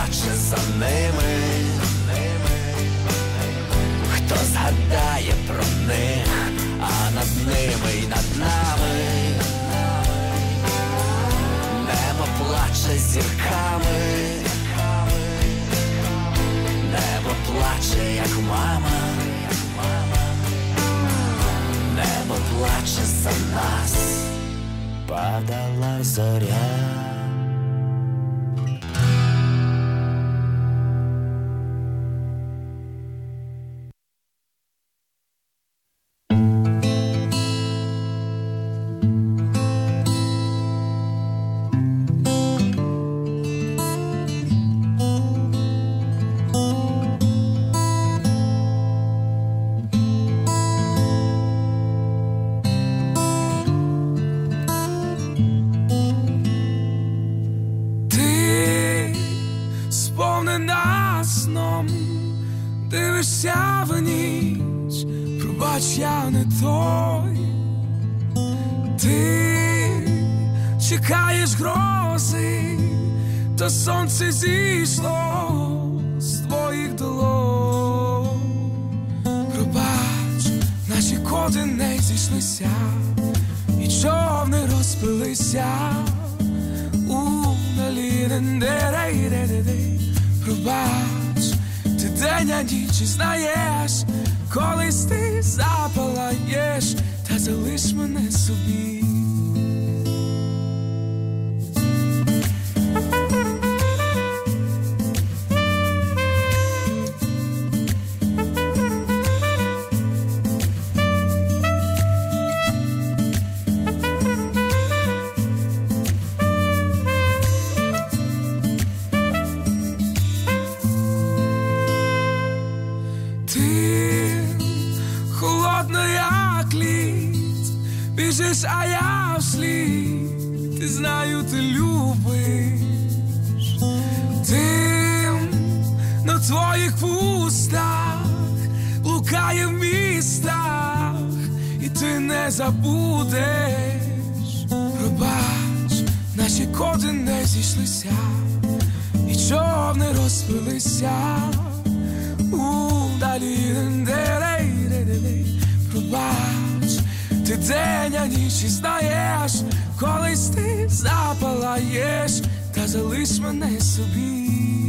плаче за ними, хто згадає про них, а над ними й над нами небо плаче зірками, небо плаче, як мама, небо плаче за нас, падала зоря. Дивишся в ніч, пробач, я не той. Ти чекаєш грози, та сонце зійшло з твоїх долонь. Пробач, наші коди не зійшлися, і човни розпилися у наліден-де-рей-де-де-де. Пробач, ти день, а ніч, знаєш, колись ти запалаєш, та залиш мене собі. Біжиш, а я вслід, ти знаю, ти любиш. Дим на твоїх вустах блукає в містах, і ти не забудеш. Пробач, наші коди не зійшлися, і човни розпилися у далі. Пробач, ти день, а ніч, знаєш, колись ти запалаєш, та залиш мене собі.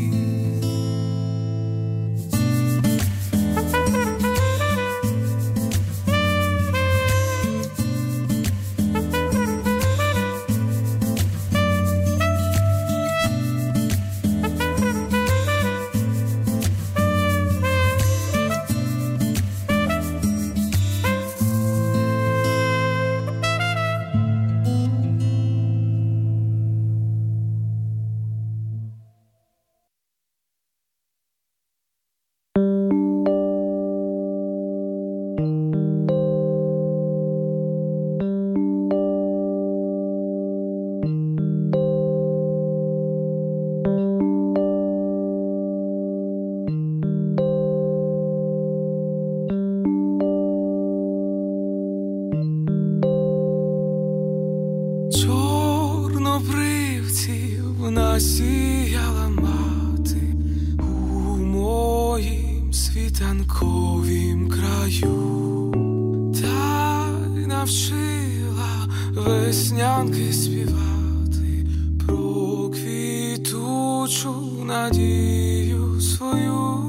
Насіяла мати у моїм світанковім краю, та й навчила веснянки співати про квітучу надію свою.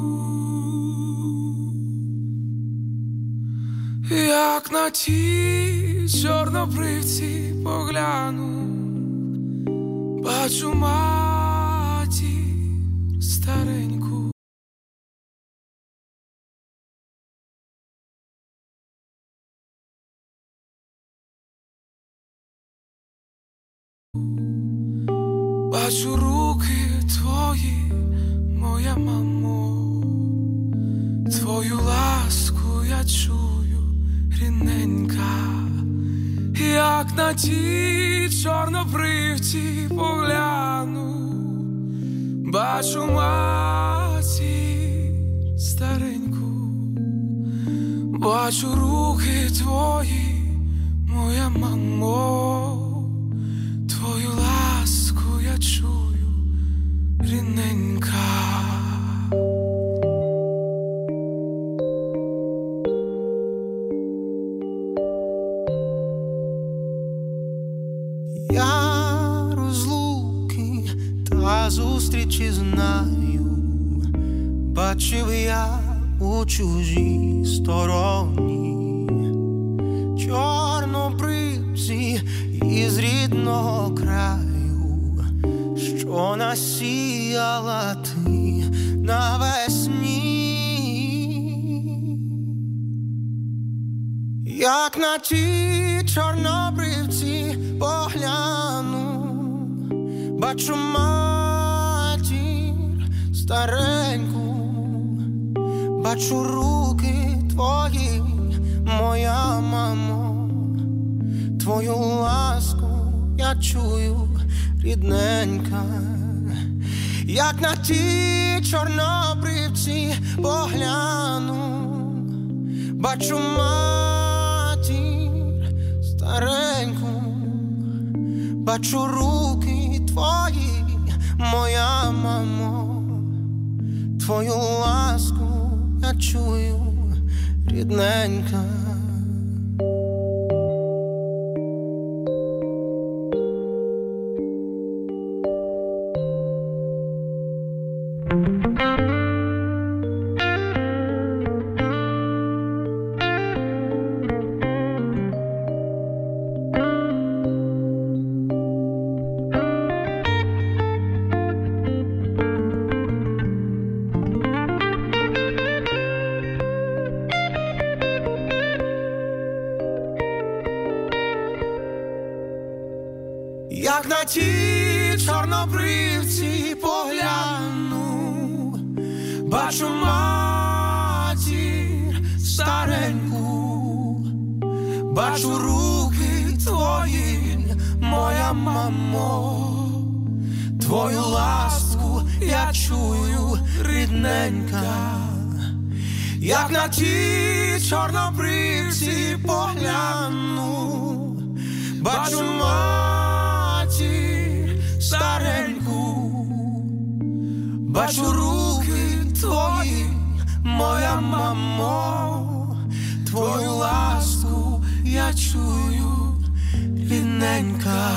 Як на ті чорнобривці погляну, бачу матір стареньку. Бачу руки твої, моя мамо, твою ласку я чую, рідненька. Як на ті чорнобривці погляну, бачу матір стареньку. Бачу руки твої, моя мамо, твою ласку я чую, рідненька. а зустрічі знаю. Бачив я у чужій стороні чорнобривці із рідного краю, що насіяла ти навесні. Як на ті чорнобривці погляну, бачу матір стареньку, бачу руки твої, моя мамо, твою ласку я чую, рідненька. Як на ті чорнобривці погляну, бачу матір стареньку, бачу руки твої, моя мамо, твою ласку я чую, рідненька. Як на ті чорнобривці погляну, бачу матір стареньку, бачу руки твої, моя мамо, твою ласку я чую, рідненька. Як на ті чорнобривці погляну, бачу стареньку, бачу руки твої, моя мамо, твою ласку я чую, рідненька.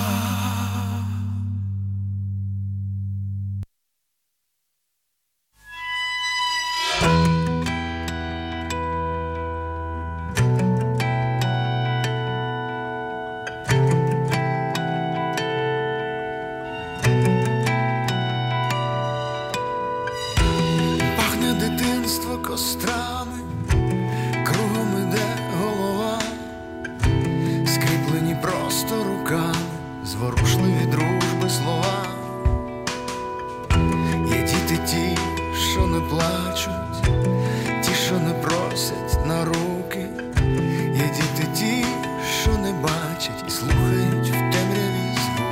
Кострами, кругом іде голова, скріплені просто руками, зворушливі дружби слова. Є діти ті, що не плачуть, ті, що не просять на руки. Є діти ті, що не бачать і слухають в темряві звуки.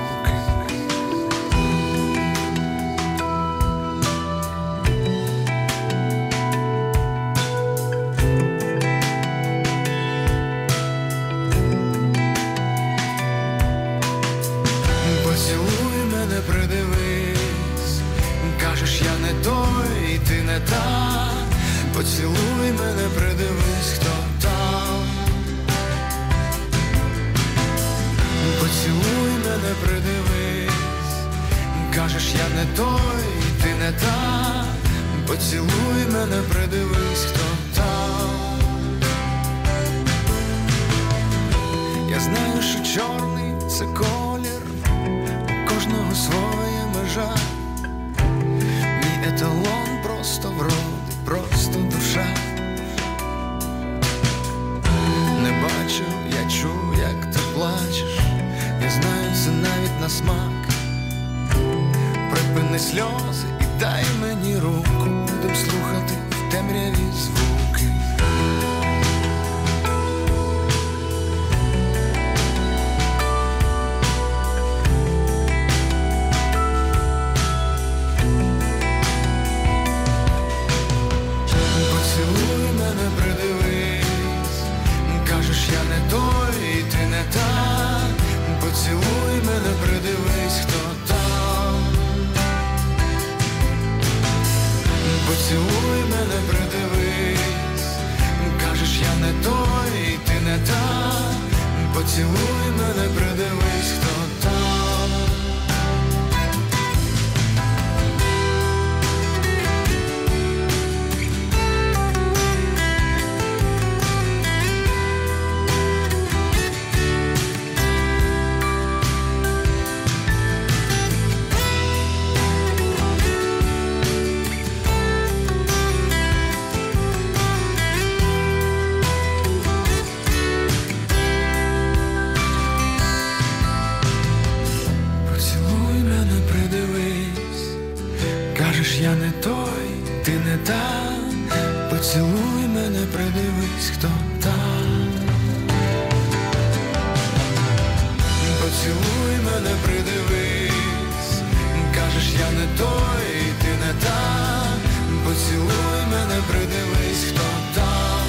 Придивись, кажеш, я не той, ти не та. Поцілуй мене, придивись, хто там. Поцілуй мене, придивись, кажеш, я не той, ти не та. Поцілуй мене, придивись, хто там. Я знаю, що чорний – це колір, кожного своя межа. Мій еталон просто вроди, просто душа. Не бачу, я чую, як ти плачеш. Я знаю це навіть на смак. Припини сльози і дай мені руку. Будем слухати в темряві звуки. Я не той, ти не та. Поцілуй мене, придивись, хто там. Поцілуй мене, придивись, кажеш, я не той, ти не та. Поцілуй мене, придивись, хто там. Кажеш, я не той, ти не та, поцілуй мене, придивись, хто там. Поцілуй мене, придивись, кажеш, я не той, ти не та, поцілуй мене, придивись, хто там.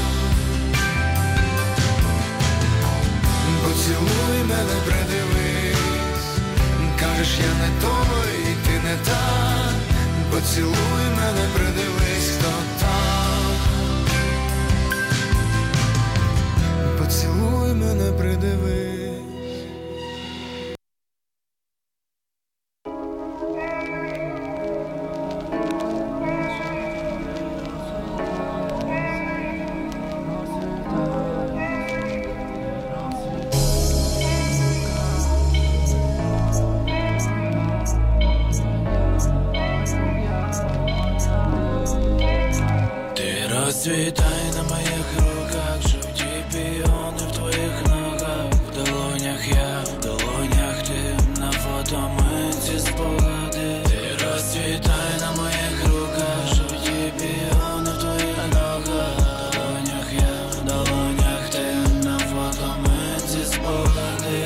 Поцілуй мене, придивись, кажеш, я не той, ти не та, поцілуй мене, придивись, хто там. Поцілуй мене, придивись. Розцвітай на моїх руках, жовті піони в твоїх ногах. В долонях я, в долонях ти, на фото ми ці спогади. Ти розцвітай на моїх руках, жовті піони в твоїх ногах. В долонях я, в долонях ти, на фото ми ці спогади.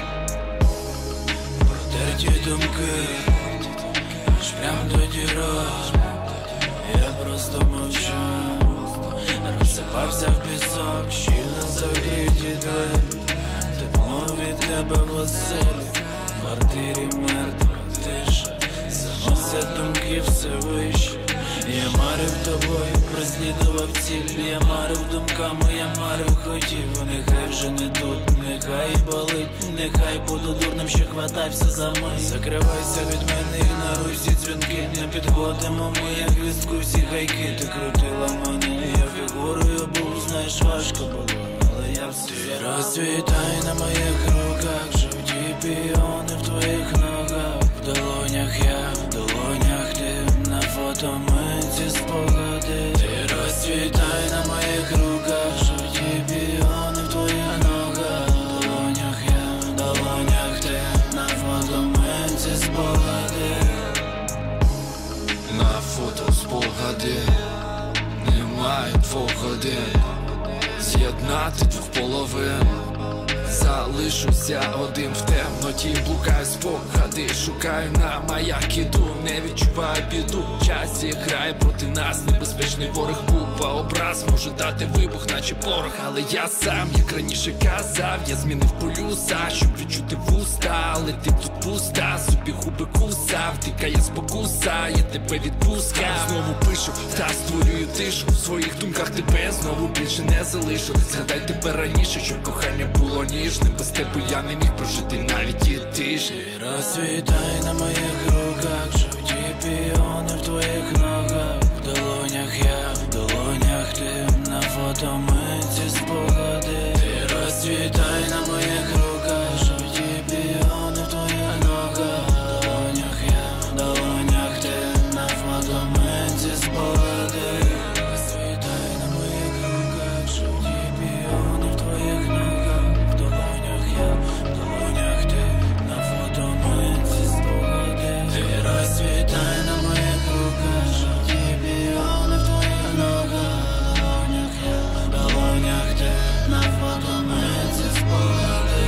Протерті думки, аж прям до дірок. Я просто мовчу, розсипався в пісок, щільно закриті двері. Тепло від тебе в оселі, в квартирі мертва тиша. Заносять думки все вище. Я марив тобою, прослідував ціль. Я марив думками, я марив хотів. Нехай вже не тут, нехай болить. Нехай буду дурним, що хватався за мить. Закривайся від мене, ігноруй всі дзвінки. Не підходимо ми, як вістку, всі гайки. Ти крутила мене, я фігурою був. Знаєш, важко було, але я все. Ти розцвітай на моїх руках, жовті піони в твоїх ногах. В долонях я, в долонях ти, на фото ми ці спогади. Ти розцвітай на моїх руках, жовті піони в твоїх ногах. В долонях я, в долонях ти, на фото ми ці спогади. На фото спогади, немає 2 годин, з'єднати 2 половин. Залишуся один в темноті, блукаю спогади, шукаю на маяк, іду, не відчуваю біду. Час грає проти нас, небезпечний ворог, купа образ може дати вибух, наче порох. Але я сам, як раніше казав, я змінив полюса, щоб відчути вуста. Але ти тут пуста, собі губи кусав, тікає спокуса, я тебе відпускав. Знову пишу, та створюю тишу, в своїх думках тебе знову більше не залишу. Згадай тебе раніше, щоб кохання було ніжним. Без тебе я не міг прожити навіть і тижні. Ти розцвітай на моїх руках, жовті піони в твоїх ногах. В долонях я, в долонях ти, на фото ми ці спогади. Ти розцвітай на моїх руках, жовті піони в твоїх ногах. В долонях я, в долонях ти, на фото ми ці спогади. Розцвітай на моїх руках, жовті піони в твоїх ногах. В долонях я, в долонях ти, на фото ми ці спогади. Ти розцвітай на моїх руках, жовті піони в твоїх ногах. В долонях я, в долонях ти, на фото ми ці спогади.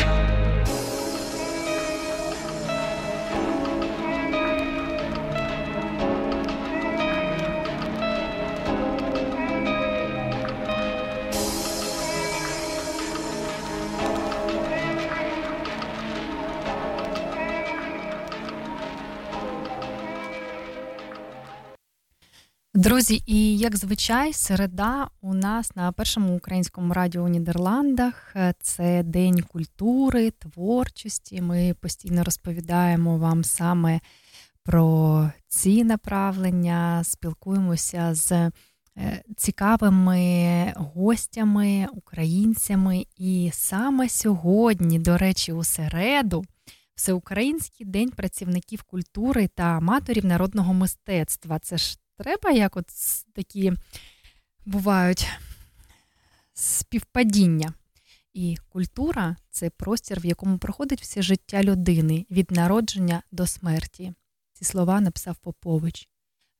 Друзі, і як звичай, середа у нас на першому українському радіо у Нідерландах. Це День культури, творчості. Ми постійно розповідаємо вам саме про ці направлення, спілкуємося з цікавими гостями, українцями. І саме сьогодні, до речі, у середу, Всеукраїнський день працівників культури та аматорів народного мистецтва. Це ж треба, як от такі бувають співпадіння. І культура – це простір, в якому проходить все життя людини від народження до смерті. Ці слова написав Попович.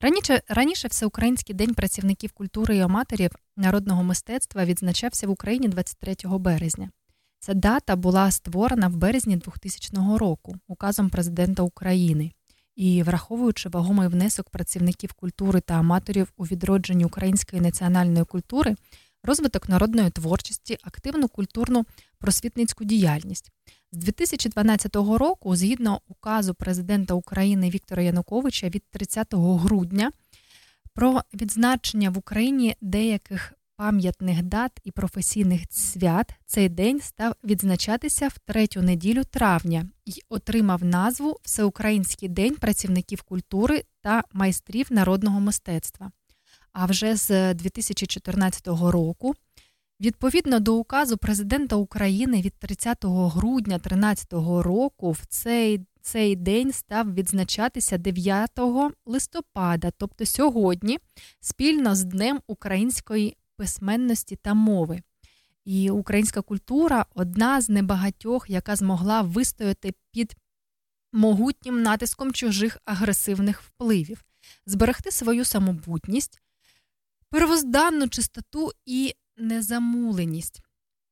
Раніше Всеукраїнський день працівників культури і аматорів народного мистецтва відзначався в Україні 23 березня. Ця дата була створена в березні 2000 року указом президента України. І, враховуючи вагомий внесок працівників культури та аматорів у відродженні української національної культури, розвиток народної творчості, активну культурну просвітницьку діяльність. З 2012 року, згідно указу президента України Віктора Януковича від 30 грудня про відзначення в Україні деяких пам'ятних дат і професійних свят, цей день став відзначатися в третю неділю травня і отримав назву Всеукраїнський день працівників культури та майстрів народного мистецтва. А вже з 2014 року, відповідно до указу президента України від 30 грудня 2013 року, в цей день став відзначатися 9 листопада, тобто сьогодні, спільно з Днем української письменності та мови. І українська культура – одна з небагатьох, яка змогла вистояти під могутнім натиском чужих агресивних впливів, зберегти свою самобутність, первозданну чистоту і незамуленість.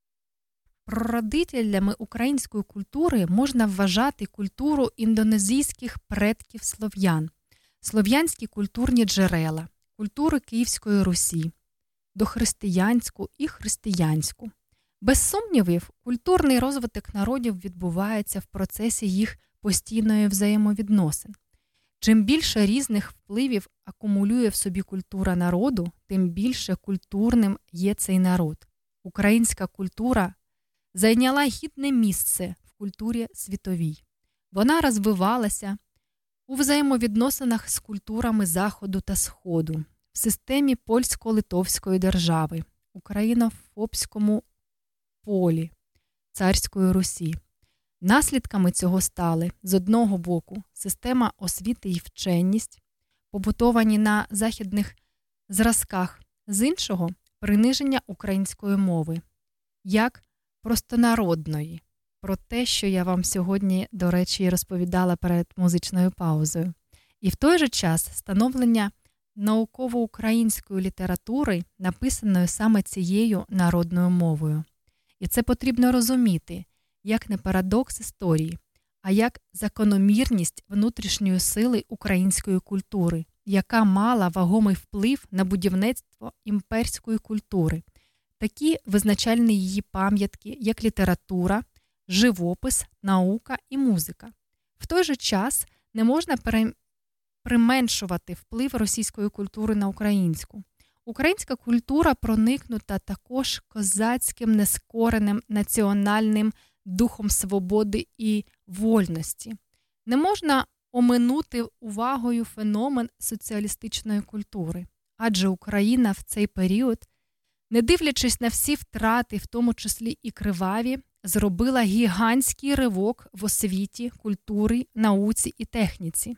Прародителями української культури можна вважати культуру індонезійських предків слов'ян, слов'янські культурні джерела, культури Київської Русі, дохристиянську і християнську. Без сумнівів, культурний розвиток народів відбувається в процесі їх постійної взаємовідносин. Чим більше різних впливів акумулює в собі культура народу, тим більше культурним є цей народ. Українська культура зайняла гідне місце в культурі світовій. Вона розвивалася у взаємовідносинах з культурами Заходу та Сходу, в системі польсько-литовської держави, україно-фобському полі царської Русі. Наслідками цього стали, з одного боку, система освіти і вченість, побутовані на західних зразках, з іншого – приниження української мови, як простонародної, про те, що я вам сьогодні, до речі, розповідала перед музичною паузою. І в той же час становлення науково-української літератури, написаної саме цією народною мовою. І це потрібно розуміти, як не парадокс історії, а як закономірність внутрішньої сили української культури, яка мала вагомий вплив на будівництво імперської культури. Такі визначальні її пам'ятки, як література, живопис, наука і музика. В той же час не можна применшувати вплив російської культури на українську. Українська культура проникнута також козацьким нескореним національним духом свободи і вольності. Не можна оминути увагою феномен соціалістичної культури, адже Україна в цей період, не дивлячись на всі втрати, в тому числі і криваві, зробила гігантський ривок в освіті, культурі, науці і техніці.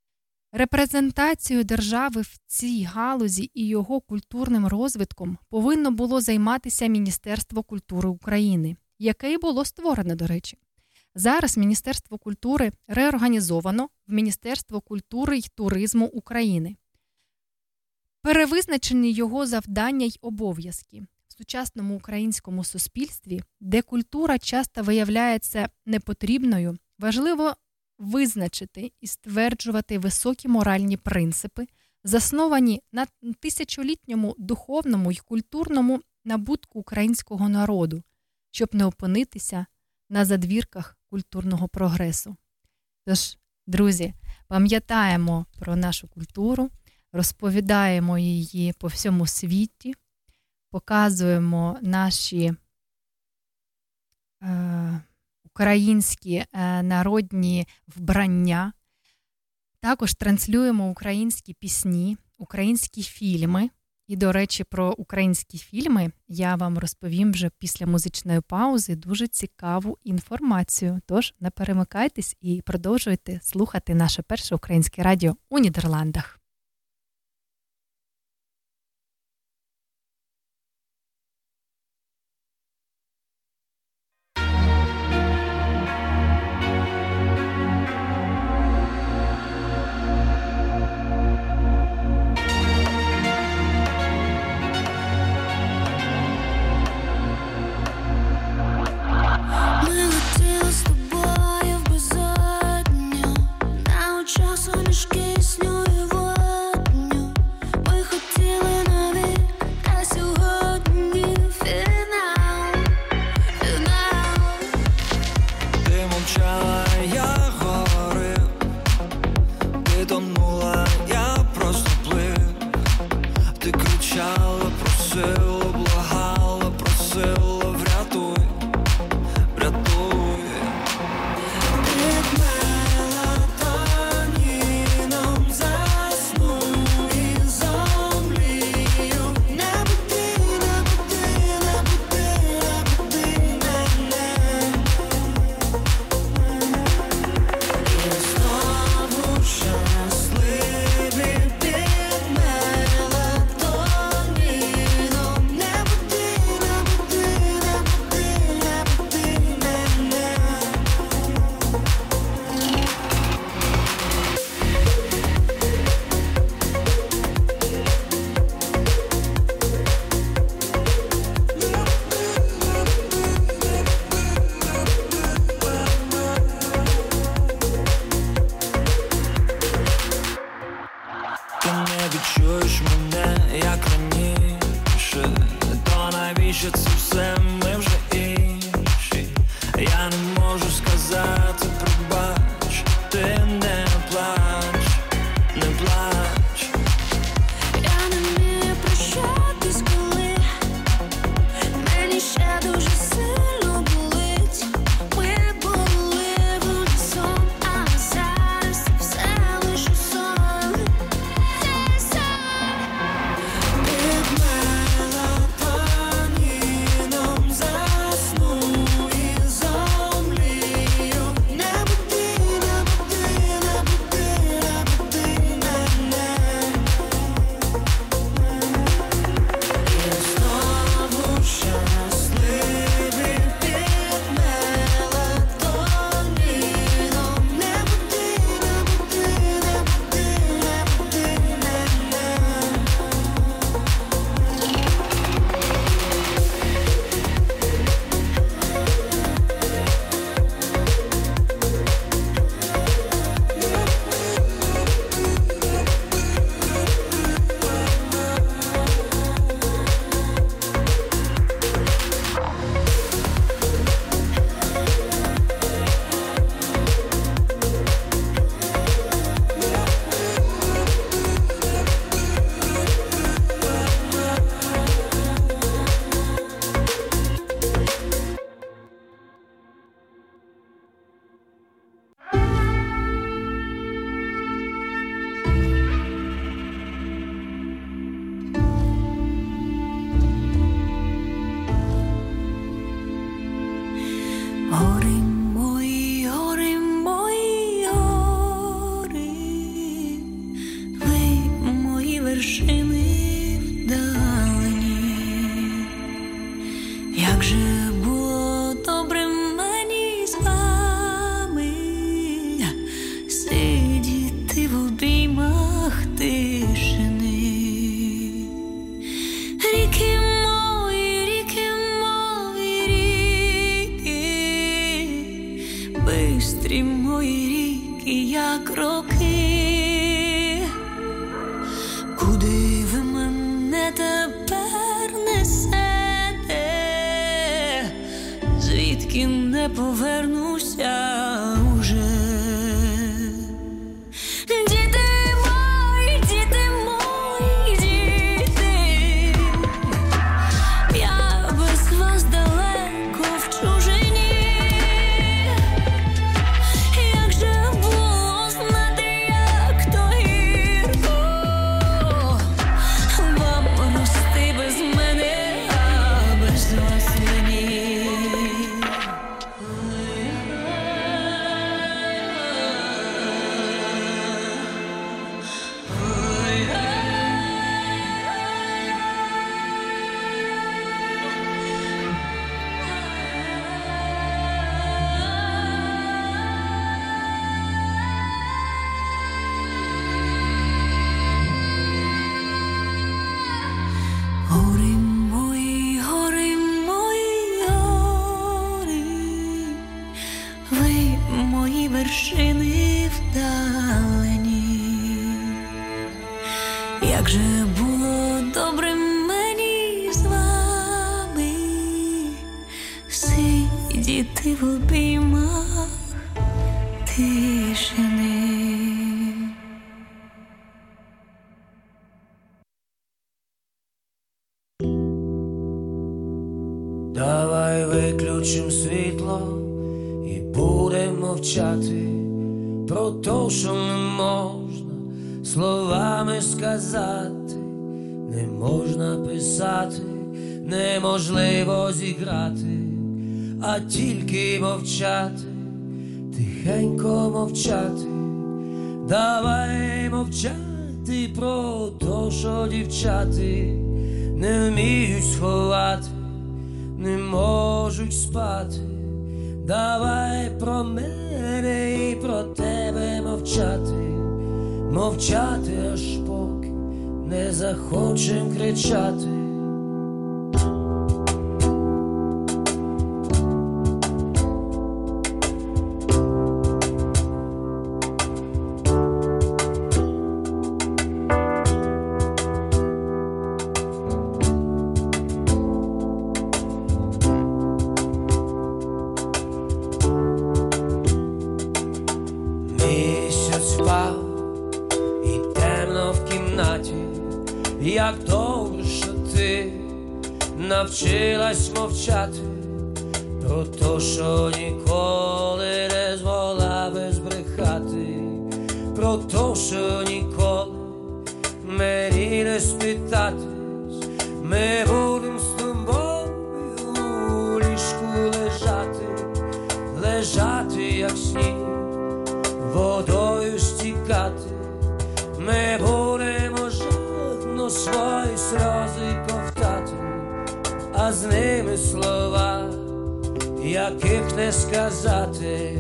Репрезентацією держави в цій галузі і його культурним розвитком повинно було займатися Міністерство культури України, яке й було створено, до речі. Зараз Міністерство культури реорганізовано в Міністерство культури й туризму України. Перевизначені його завдання й обов'язки. В сучасному українському суспільстві, де культура часто виявляється непотрібною, важливо визначити і стверджувати високі моральні принципи, засновані на тисячолітньому духовному й культурному набутку українського народу, щоб не опинитися на задвірках культурного прогресу. Тож, друзі, пам'ятаємо про нашу культуру, розповідаємо її по всьому світі, показуємо наші українські народні вбрання, також транслюємо українські пісні, українські фільми. І, до речі, про українські фільми я вам розповім вже після музичної паузи дуже цікаву інформацію. Тож не перемикайтесь і продовжуйте слухати наше перше українське радіо у Нідерландах. тонула, я просто плив. Ти кричала, просила, благала, просила, врятуй, врятуй. Під мелатоніном засну і зомлію. Не буди, не буди, не буди, не буди мене. І знову щасливі під мелатоніном. Не буди, не буди, не буди, не буди мене. Ти не відчуєш мене, як раніше. То навіщо це все, ми вже інші. Я не можу сказати, пробач. Ти не плач, не плач. Я не вмію прощатись, коли мені ще дуже сильно болить. Ми були в унісон, а зараз все лише сон. Під мелатоніном засну і зомлію. Не буди, не буди, не буди, не буди мене. І знову щасливі під мелатоніном. Не буди, не буди, не буди, не буди мене. Гори мої, гори мої, гори, ви мої вершини вдалині. Як же було добре мені з вами сидіти в обіймах тишини. Ріки мої, ріки мої, ріки, бистрі мої ріки, як роки. Куди ви мене тепер несете? Звідки не повернуся уже? Діти мої, діти мої, діти, я без вас далеко в чужині. Як же було знати, як то гірко вам рости без мене, а без вас мені. Гори мої, гори мої, гори, ви мої вершини вдалині. Як же було добре мені з вами сидіти в обіймах тишини. виключим світло і будемо мовчати про те, що не можна словами сказати, не можна писати, неможливо зіграти, а тільки мовчати, тихенько мовчати. Давай мовчати про те, що дівчати не вміють сховати, не можуть спати. Давай про мене і про тебе мовчати, мовчати, аж поки не захочем кричати. Як добре, що ти навчилась мовчати про те, що ніколи не змогла би збрехати, про те, що ніколи мені не спитатись. Ми будем з тобою у ліжку лежати, лежати, як сніг, водою стікати. Ми будемо свої сльози ковтати, а з ними слова, яких не сказати.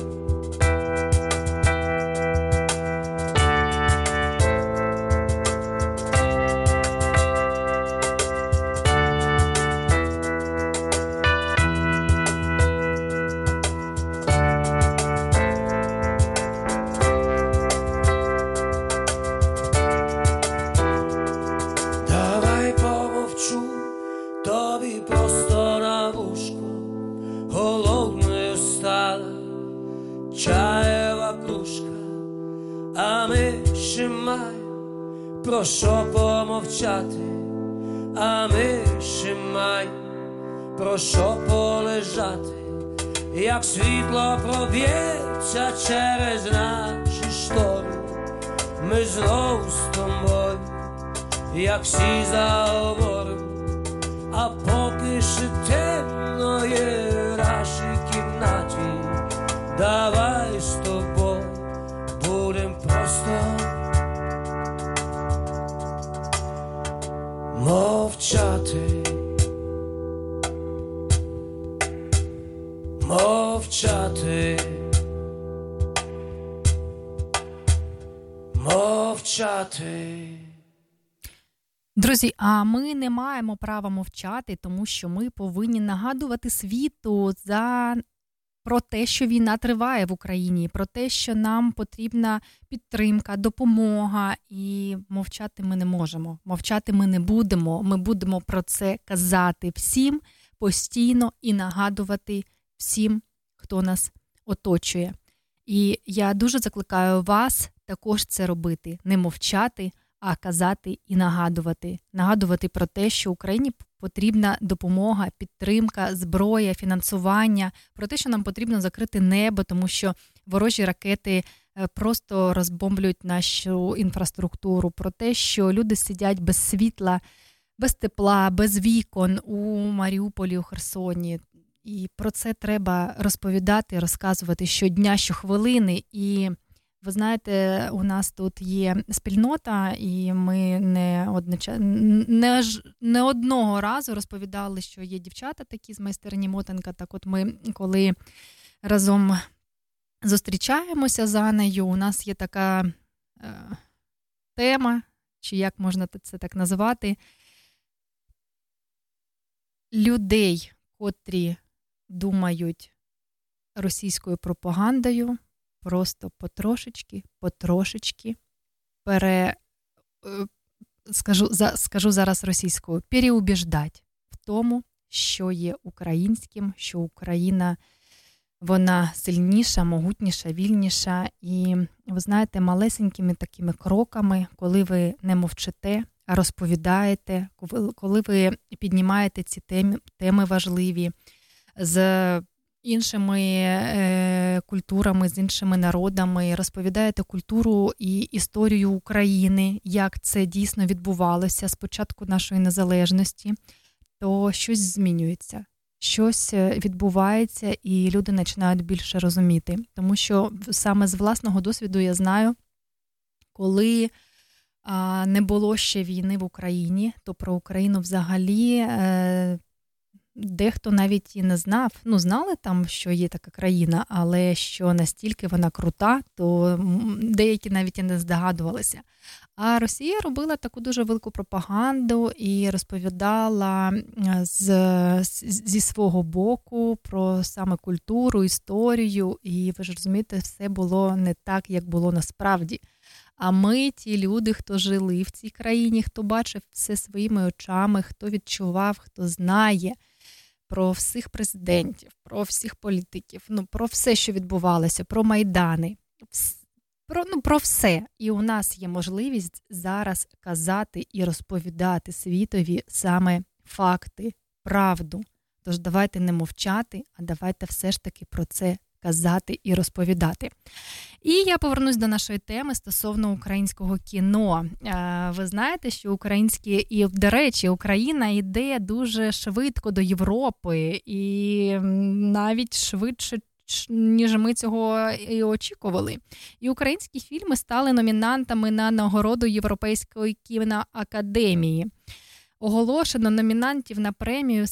Про що помовчати, а ми ще маємо про що полежати, як світло проб'ється через наші штори. Ми знову з тобою, як всі заговоримо, а поки ще темно є в нашій кімнаті. Давай з тобою будем просто мовчати, мовчати, мовчати. Друзі, а ми не маємо права мовчати, тому що ми повинні нагадувати світу про те, що війна триває в Україні, про те, що нам потрібна підтримка, допомога, і мовчати ми не можемо, мовчати ми не будемо. Ми будемо про це казати всім постійно і нагадувати всім, хто нас оточує. І я дуже закликаю вас також це робити, не мовчати, а казати і нагадувати. Нагадувати про те, що Україні потрібна допомога, підтримка, зброя, фінансування, про те, що нам потрібно закрити небо, тому що ворожі ракети просто розбомблюють нашу інфраструктуру, про те, що люди сидять без світла, без тепла, без вікон у Маріуполі, у Херсоні. І про це треба розповідати, розказувати щодня, щохвилини. І ви знаєте, у нас тут є спільнота, і ми не одного разу розповідали, що є дівчата такі з майстерні Мотанка. Так от ми, коли разом зустрічаємося з Анею, у нас є така тема, чи як можна це так називати, людей, котрі думають російською пропагандою, просто потрошечки, скажу зараз російською, переубіждать в тому, що є українським, що Україна, вона сильніша, могутніша, вільніша. І, ви знаєте, малесенькими такими кроками, коли ви не мовчите, а розповідаєте, коли ви піднімаєте ці теми важливі, з іншими культурами, з іншими народами, розповідаєте культуру і історію України, як це дійсно відбувалося з початку нашої незалежності, то щось змінюється. Щось відбувається, і люди починають більше розуміти. Тому що саме з власного досвіду я знаю, коли не було ще війни в Україні, то про Україну взагалі дехто навіть і не знав. Ну, знали там, що є така країна, але що настільки вона крута, то деякі навіть і не здогадувалися. А Росія робила таку дуже велику пропаганду і розповідала зі свого боку про саме культуру, історію. І ви ж розумієте, все було не так, як було насправді. А ми, ті люди, хто жили в цій країні, хто бачив все своїми очами, хто відчував, хто знає про всіх президентів, про всіх політиків, про все, що відбувалося, про Майдани, про все. І у нас є можливість зараз казати і розповідати світові саме факти, правду. Тож давайте не мовчати, а давайте все ж таки про це казати і розповідати. І я повернусь до нашої теми стосовно українського кіно. Ви знаєте, що українське, і, до речі, Україна йде дуже швидко до Європи, і навіть швидше, ніж ми цього і очікували. І українські фільми стали номінантами на нагороду Європейської кіноакадемії. Оголошено номінантів на премію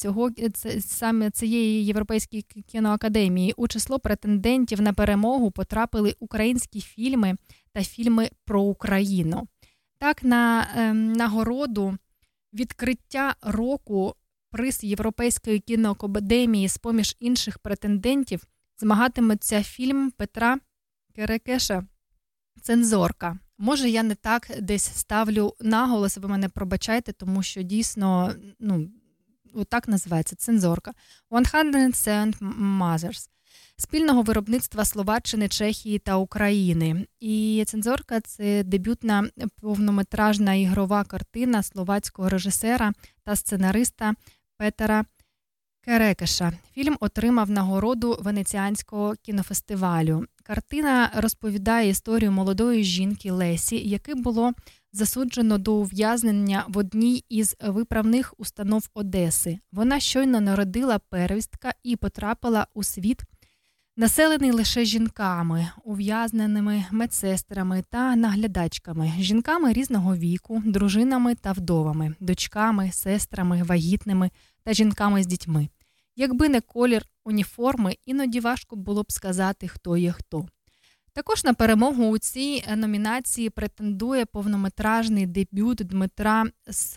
саме цієї Європейської кіноакадемії. У число претендентів на перемогу потрапили українські фільми та фільми про Україну. Так, на нагороду відкриття року приз Європейської кіноакадемії з-поміж інших претендентів змагатиметься фільм Петра Керекеша «Цензорка». Може, я не так десь ставлю наголос, ви мене пробачайте, тому що дійсно, отак називається «Цензорка». 107 Mothers. Спільного виробництва Словаччини, Чехії та України. І «Цензорка» – це дебютна повнометражна ігрова картина словацького режисера та сценариста Петера Керекеша. Фільм отримав нагороду Венеціанського кінофестивалю. Картина розповідає історію молодої жінки Лесі, яке було засуджено до ув'язнення в одній із виправних установ Одеси. Вона щойно народила первістка і потрапила у світ, населений лише жінками, ув'язненими медсестрами та наглядачками, жінками різного віку, дружинами та вдовами, дочками, сестрами, вагітними та жінками з дітьми. Якби не колір уніформи, іноді важко було б сказати, хто є хто. Також на перемогу у цій номінації претендує повнометражний дебют Дмитра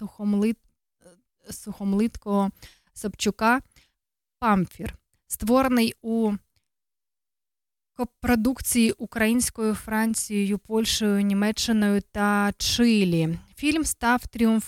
Сухомлиткого Собчука «Памфір», створений у копродукції українською, Францією, Польщею, Німеччиною та Чилі. Фільм став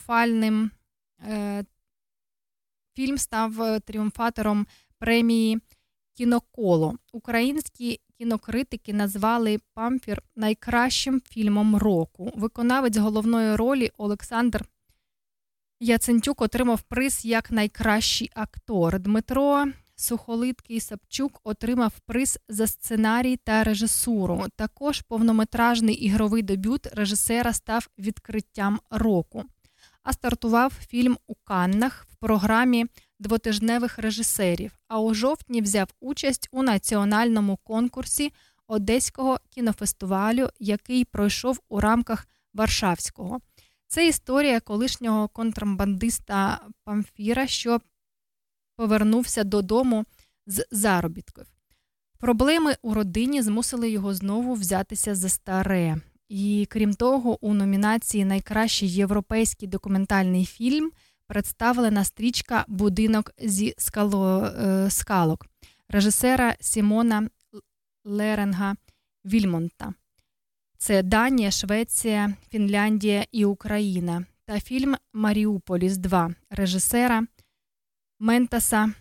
тріумфатором премії «Кіноколо». Українські кінокритики назвали «Памфір» найкращим фільмом року. Виконавець головної ролі Олександр Яцентюк отримав приз як найкращий актор. Дмитро Сухолиткий Собчук отримав приз за сценарій та режисуру. Також повнометражний ігровий дебют режисера став відкриттям року. А стартував фільм у Каннах в програмі двотижневих режисерів, а у жовтні взяв участь у національному конкурсі Одеського кінофестивалю, який пройшов у рамках Варшавського. Це історія колишнього контрабандиста Памфіра, що повернувся додому з заробітків. Проблеми у родині змусили його знову взятися за старе. І, крім того, у номінації «Найкращий європейський документальний фільм» представлена стрічка «Будинок зі скалок» режисера Сімона Леренга Вільмонта. Це Данія, Швеція, Фінляндія і Україна. Та фільм «Маріуполіс 2» режисера Ментаса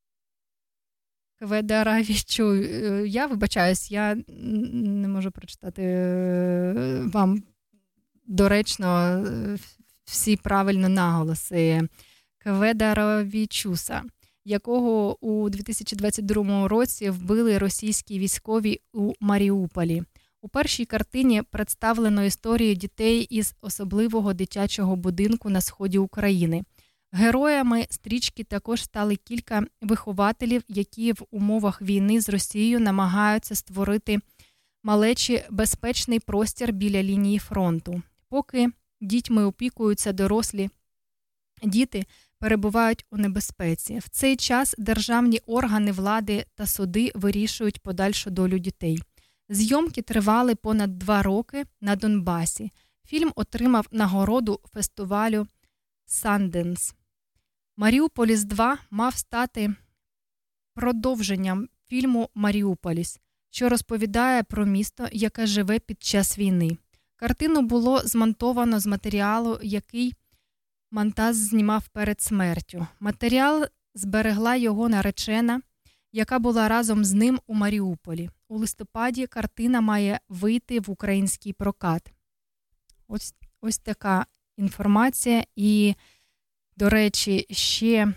Кведаравічу. Я вибачаюсь, я не можу прочитати вам доречно всі правильно наголоси. Кведаравічуса. якого у 2022 році вбили російські військові у Маріуполі. У першій картині представлено історію дітей із особливого дитячого будинку на сході України. Героями стрічки також стали кілька вихователів, які в умовах війни з Росією намагаються створити малечі безпечний простір біля лінії фронту. Поки дітьми опікуються дорослі, діти перебувають у небезпеці. В цей час державні органи влади та суди вирішують подальшу долю дітей. Зйомки тривали понад 2 роки на Донбасі. Фільм отримав нагороду фестивалю «Санденс». «Маріуполіс 2» мав стати продовженням фільму «Маріуполіс», що розповідає про місто, яке живе під час війни. Картину було змонтовано з матеріалу, який Монтаз знімав перед смертю. Матеріал зберегла його наречена, яка була разом з ним у Маріуполі. У листопаді картина має вийти в український прокат. Ось така інформація. І, до речі, ще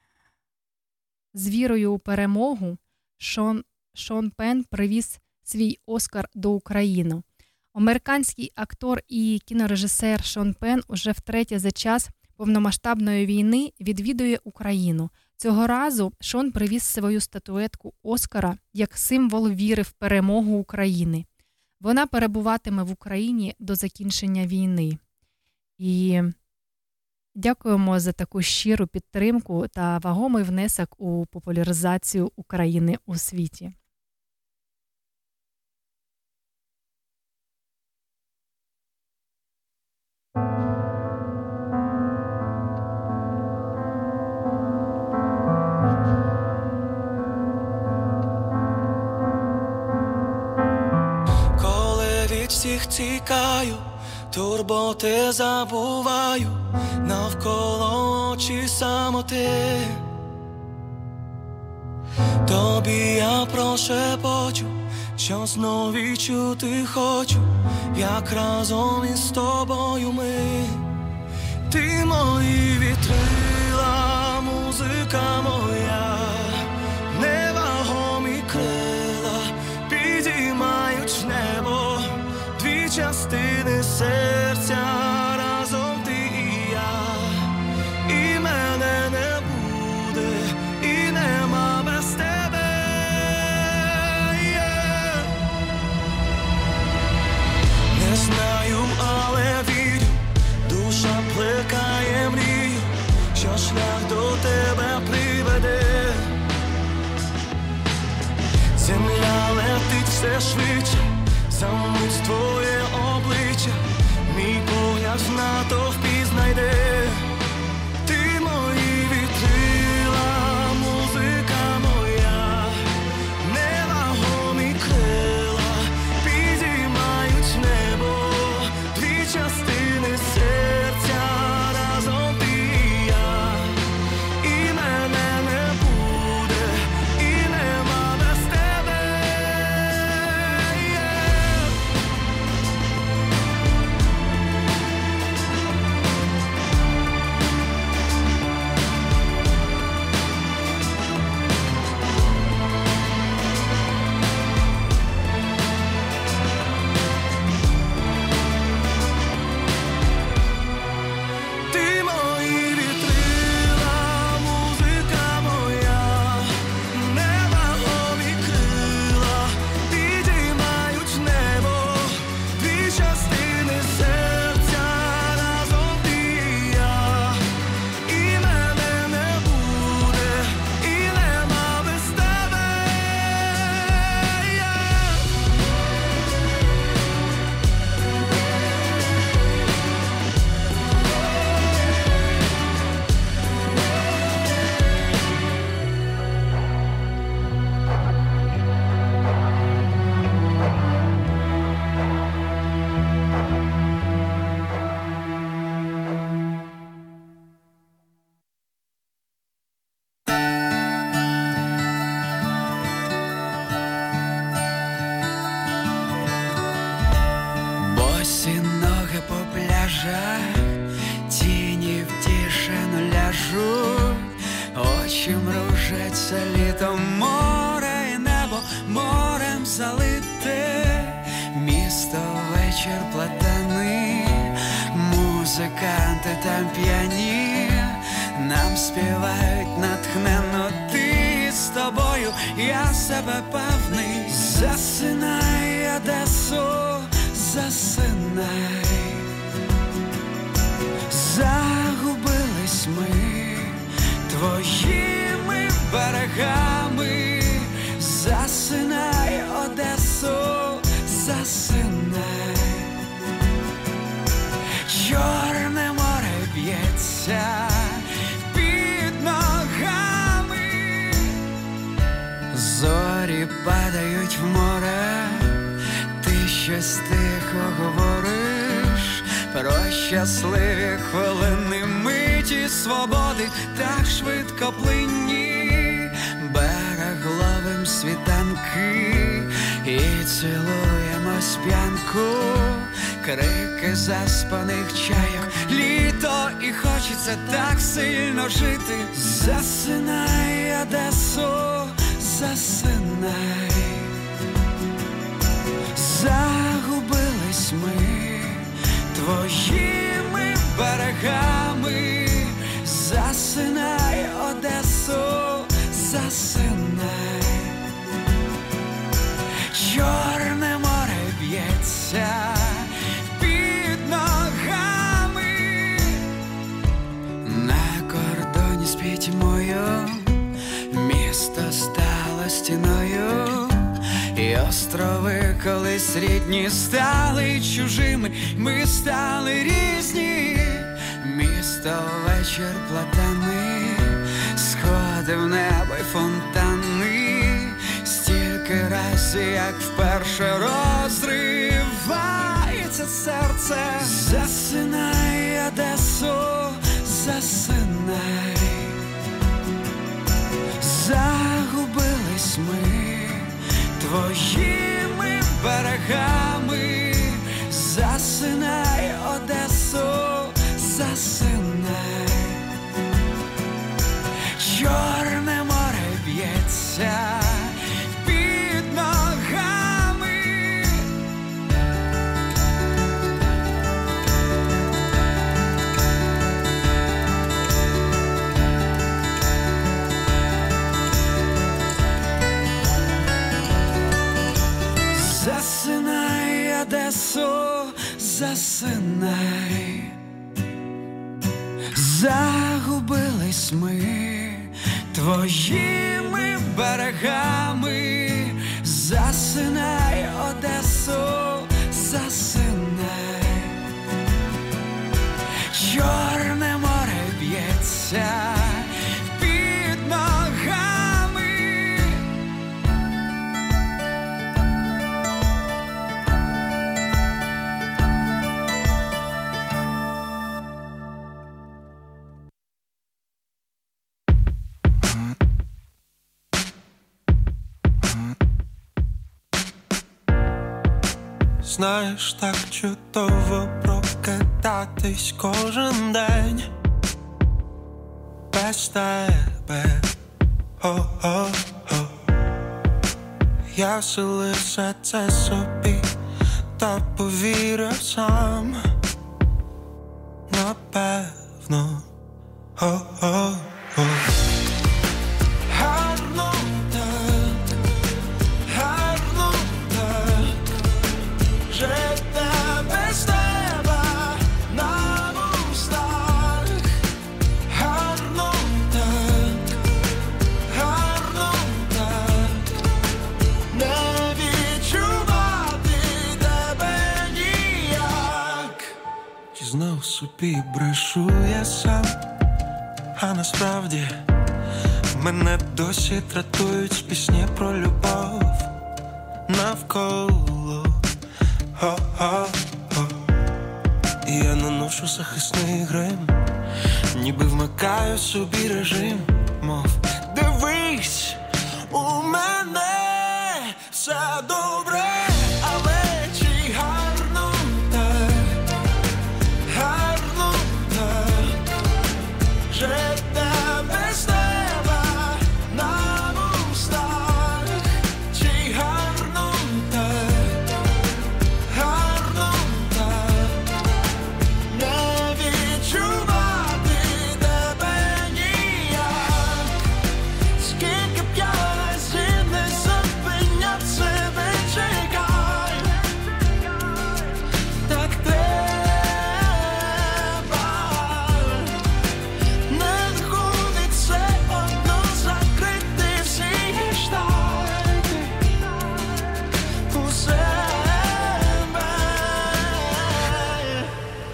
з вірою у перемогу Шон Пен привіз свій Оскар до України. Американський актор і кінорежисер Шон Пен уже втретє за час повномасштабної війни відвідує Україну. Цього разу Шон привіз свою статуетку Оскара як символ віри в перемогу України. Вона перебуватиме в Україні до закінчення війни. І дякуємо за таку щиру підтримку та вагомий внесок у популяризацію України у світі. Всіх тікаю, турботи забуваю, навколо очі самоти. Тобі я прошепочу, що знов відчути хочу, як разом із тобою ми. Ти мої вітрила, музика моя, невагомі крила підіймають небо. Дві частини серця, разом ти і я, і мене не буде, і нема без тебе. Не знаю, але вірю, душа плекає мрію, що шлях до тебе приведе. Земля летить все швидше, замить твоє обличчя, мій погляд в натовпі знайде. Ти мої вітрила, музика моя, невагомі крила підіймають небо. Дві частини серця, разом ти і я, і мене не буде, і нема без тебе. Ти мої вітрила, музика моя, невагомі крила підіймають небо. Дві частини серця, разом ти і я, і мене не буде, і нема без тебе. Босі ноги по пляжах, тіні в тишину ляжуть, очі мружать. сміється літом, море і небо морем залите, місто вечір платаний, музиканти там п'яні, нам співають натхненно, ти з тобою, я себе певний. Засинай, Одесо, засинай, загубились ми твоїми берегами. Засинай, Одесо, засинай, Чорне море б'ється під ногами, зорі падають в море, ти щось тихо говориш про щасливі хвилини, миті свободи так швидко плинні, берег ловим світанки і цілуємо сп'янку, крики заспаних чайок, літо і хочеться так сильно жити. Засинай, Одесо, засинай, загубились ми твоїми берегами. Засинай, Одесо, засинай, Чорне море б'ється під ногами, на кордоні з пітьмою місто стало стіною, і острови колись рідні стали чужими, ми стали різні. Місто вечір платаний, сходи в небо й фонтани, стільки разів, як вперше розривається серце. Засинай, Одесо, засинай, загубились ми твоїми берегами. Засинай, Одесо, засинай, Чорне море б'ється під ногами. Засинай, Одесо, засинай, загубились ми твоїми берегами. Засинай, Одесо, засинай, Чорне море б'ється під ногами. Знаєш, так чудово прокидатись кожен день без тебе. О-о-о. Я все лише це собі та повірив сам. Напевно. О-о-о. Гарно так, гарно так, жити без тебе на устах. Гарно так, не відчувати тебе ніяк. Чи знов собі брешу я сам, а насправді мене досі тратують пісні про любов навколо. О-о-о. І я наношу захисний грим, ніби вмикаю собі режим, мов дивись, у мене все добре, але чи гарно так, гарно так, жити без тебе на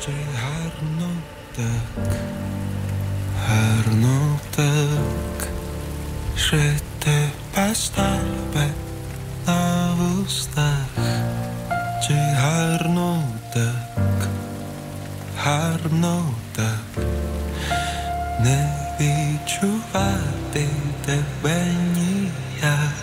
чи гарно так, гарно так, жити без тебе на вустах, чи гарно так, гарно так, не відчувати тебе ніяк.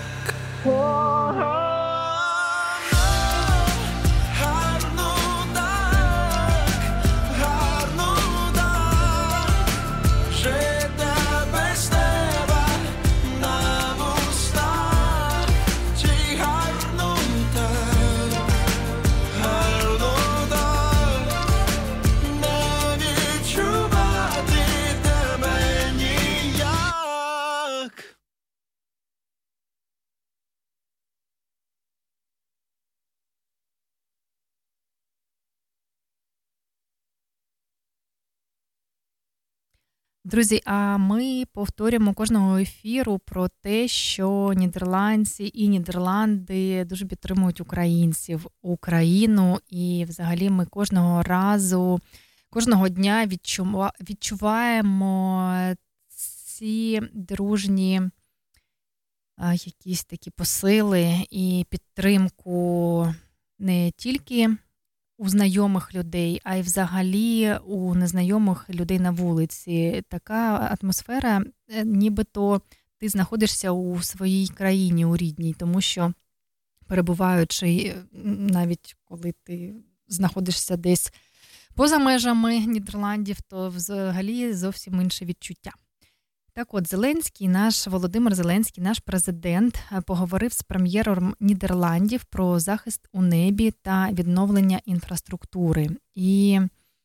Друзі, а ми повторюємо кожного ефіру про те, що нідерландці і Нідерланди дуже підтримують українців, Україну, і взагалі ми кожного разу, кожного дня відчуваємо ці дружні якісь такі посили і підтримку не тільки у знайомих людей, а й взагалі у незнайомих людей на вулиці. Така атмосфера, нібито ти знаходишся у своїй країні, у рідній, тому що перебуваючи, навіть коли ти знаходишся десь поза межами Нідерландів, то взагалі зовсім інше відчуття. Так от, Володимир Зеленський, наш президент, поговорив з прем'єром Нідерландів про захист у небі та відновлення інфраструктури. І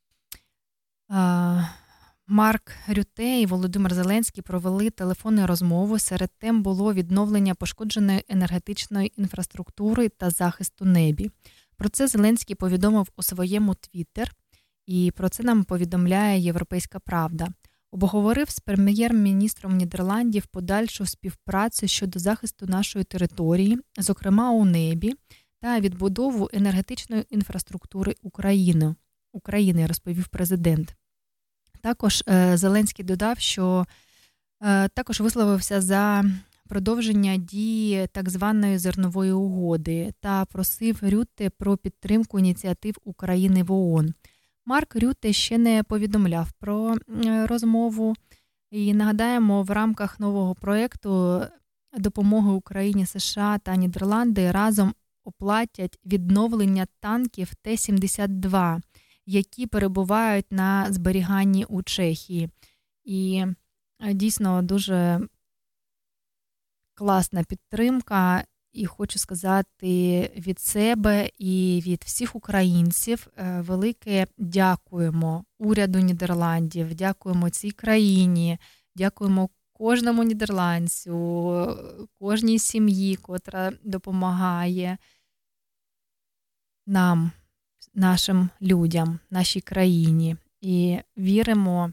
Марк Рюте і Володимир Зеленський провели телефонну розмову. Серед тем було відновлення пошкодженої енергетичної інфраструктури та захист у небі. Про це Зеленський повідомив у своєму Твіттер, і про це нам повідомляє «Європейська правда». Обговорив з прем'єр-міністром Нідерландів подальшу співпрацю щодо захисту нашої території, зокрема у небі, та відбудову енергетичної інфраструктури України, розповів президент. Також Зеленський додав, що також висловився за продовження дії так званої зернової угоди та просив Рютте про підтримку ініціатив України в ООН. Марк Рютте ще не повідомляв про розмову. І нагадаємо, в рамках нового проєкту допомоги Україні, США та Нідерланди разом оплатять відновлення танків Т-72, які перебувають на зберіганні у Чехії. І дійсно дуже класна підтримка. І хочу сказати від себе і від всіх українців велике дякуємо уряду Нідерландів, дякуємо цій країні, дякуємо кожному нідерландцю, кожній сім'ї, котра допомагає нам, нашим людям, нашій країні. І віримо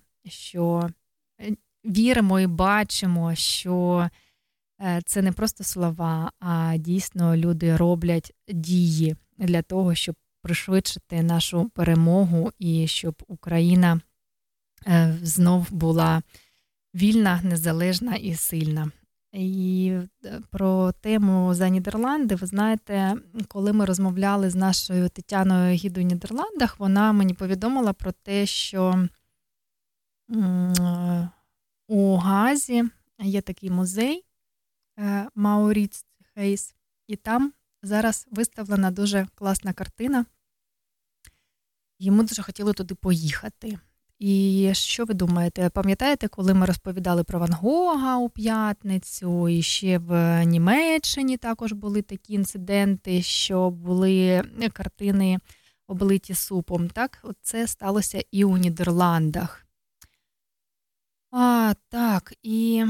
і бачимо, що це не просто слова, а дійсно люди роблять дії для того, щоб пришвидшити нашу перемогу і щоб Україна знов була вільна, незалежна і сильна. І про тему за Нідерланди, ви знаєте, коли ми розмовляли з нашою Тетяною Гідою в Нідерландах, вона мені повідомила про те, що у Газі є такий музей Мауріц Хейс, і там зараз виставлена дуже класна картина. Йому дуже хотіли туди поїхати. І що ви думаєте? Пам'ятаєте, коли ми розповідали про Ван Гога у п'ятницю, і ще в Німеччині також були такі інциденти, що були картини облиті супом. Так, от це сталося і у Нідерландах. Так, і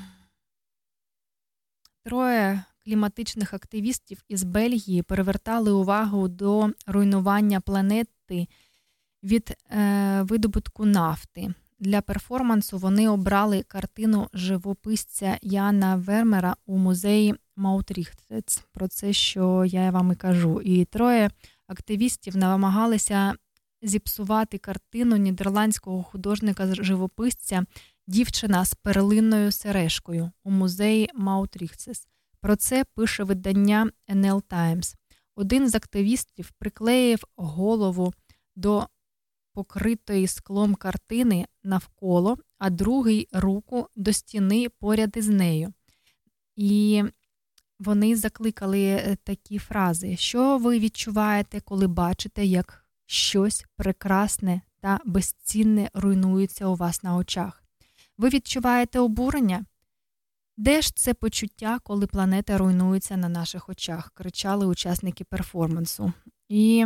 3 кліматичних активістів із Бельгії перевертали увагу до руйнування планети від видобутку нафти. Для перформансу вони обрали картину живописця Яна Вермера у музеї Маутріхтец. Про це, що я вам і кажу. І 3 активістів намагалися зіпсувати картину нідерландського художника-живописця «Дівчина з перлинною сережкою» у музеї Маутріхсес. Про це пише видання NL Times. Один з активістів приклеїв голову до покритої склом картини навколо, а другий – руку до стіни поряд із нею. І вони закликали такі фрази: «Що ви відчуваєте, коли бачите, як щось прекрасне та безцінне руйнується у вас на очах? Ви відчуваєте обурення? Де ж це почуття, коли планета руйнується на наших очах?» – кричали учасники перформансу. І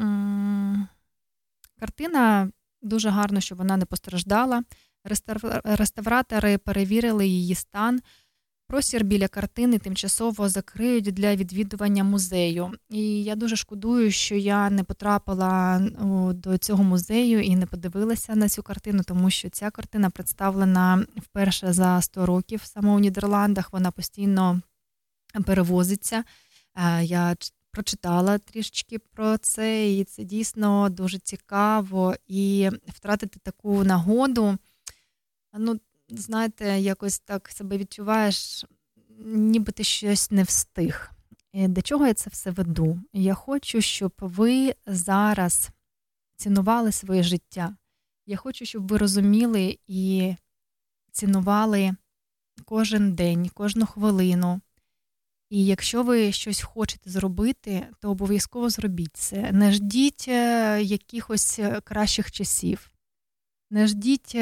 картина дуже гарно, що вона не постраждала. Реставратори перевірили її стан. Простір біля картини тимчасово закриють для відвідування музею. І я дуже шкодую, що я не потрапила до цього музею і не подивилася на цю картину, тому що ця картина представлена вперше за 100 років саме у Нідерландах. Вона постійно перевозиться. Я прочитала трішечки про це, і це дійсно дуже цікаво. І втратити таку нагоду, знаєте, якось так себе відчуваєш, ніби ти щось не встиг. І до чого я це все веду? Я хочу, щоб ви зараз цінували своє життя. Я хочу, щоб ви розуміли і цінували кожен день, кожну хвилину. І якщо ви щось хочете зробити, то обов'язково зробіть це. Не ждіть якихось кращих часів. Не ждіть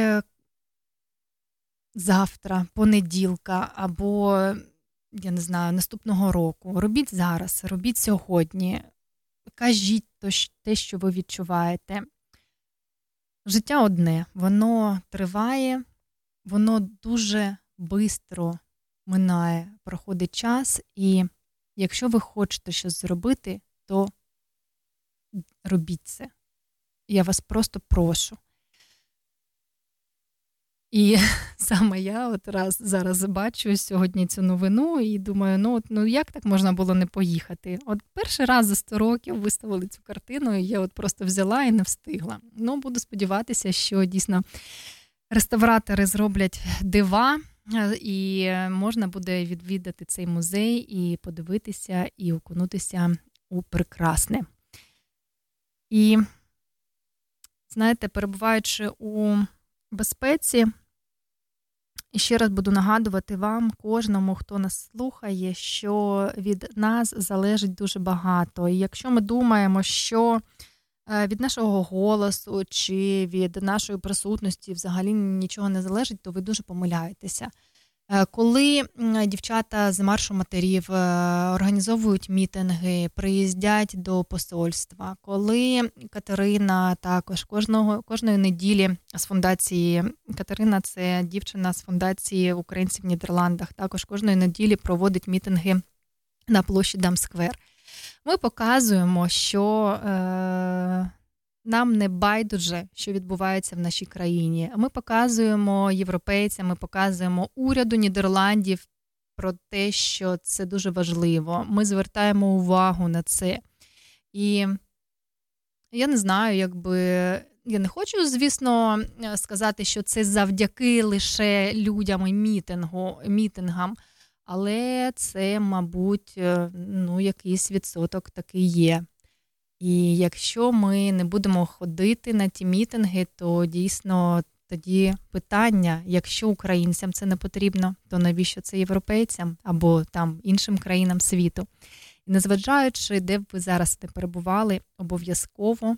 завтра, понеділка або, я не знаю, наступного року. Робіть зараз, робіть сьогодні. Кажіть те, що ви відчуваєте. Життя одне, воно триває, воно дуже швидко минає, проходить час, і якщо ви хочете щось зробити, то робіть це. Я вас просто прошу. І саме я зараз бачу сьогодні цю новину і думаю, як так можна було не поїхати? От перший раз за 100 років виставили цю картину, і я просто взяла і не встигла. Буду сподіватися, що дійсно реставратори зроблять дива, і можна буде відвідати цей музей і подивитися, і окунутися у прекрасне. І, знаєте, перебуваючи у безпеці, і ще раз буду нагадувати вам, кожному, хто нас слухає, що від нас залежить дуже багато. І якщо ми думаємо, що від нашого голосу чи від нашої присутності взагалі нічого не залежить, то ви дуже помиляєтеся. Коли дівчата з маршу матерів організовують мітинги, приїздять до посольства, коли Катерина також кожної неділі з фундації, Катерина – це дівчина з фундації українців в Нідерландах, також кожної неділі проводить мітинги на площі Дамсквер. Ми показуємо, що нам не байдуже, що відбувається в нашій країні. Ми показуємо європейцям, ми показуємо уряду Нідерландів про те, що це дуже важливо. Ми звертаємо увагу на це. І я не знаю, я не хочу, звісно, сказати, що це завдяки лише людям і мітингам, але це, мабуть, якийсь відсоток такий є. І якщо ми не будемо ходити на ті мітинги, то дійсно тоді питання, якщо українцям це не потрібно, то навіщо це європейцям або там іншим країнам світу? І незважаючи, де б ви зараз не перебували, обов'язково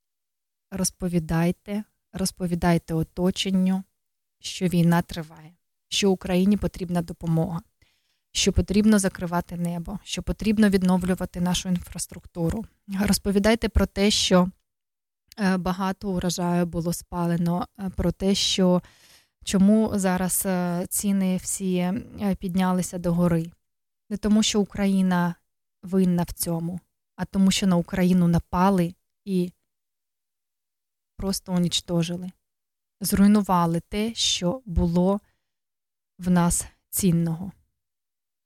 розповідайте оточенню, що війна триває, що Україні потрібна допомога, що потрібно закривати небо, що потрібно відновлювати нашу інфраструктуру. Розповідайте про те, що багато урожаю було спалено, про те, що чому зараз ціни всі піднялися догори. Не тому, що Україна винна в цьому, а тому, що на Україну напали і просто унічтожили. Зруйнували те, що було в нас цінного.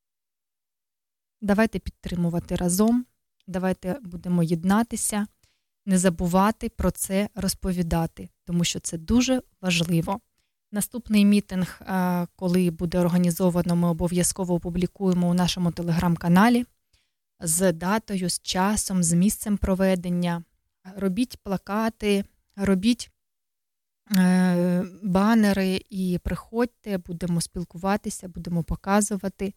Давайте підтримувати разом, давайте будемо єднатися не забувати про це розповідати, тому що це дуже важливо. Наступний мітинг, коли буде організовано, ми обов'язково опублікуємо у нашому телеграм-каналі з датою, з часом, з місцем проведення. Робіть плакати, робіть банери і приходьте, будемо спілкуватися, будемо показувати,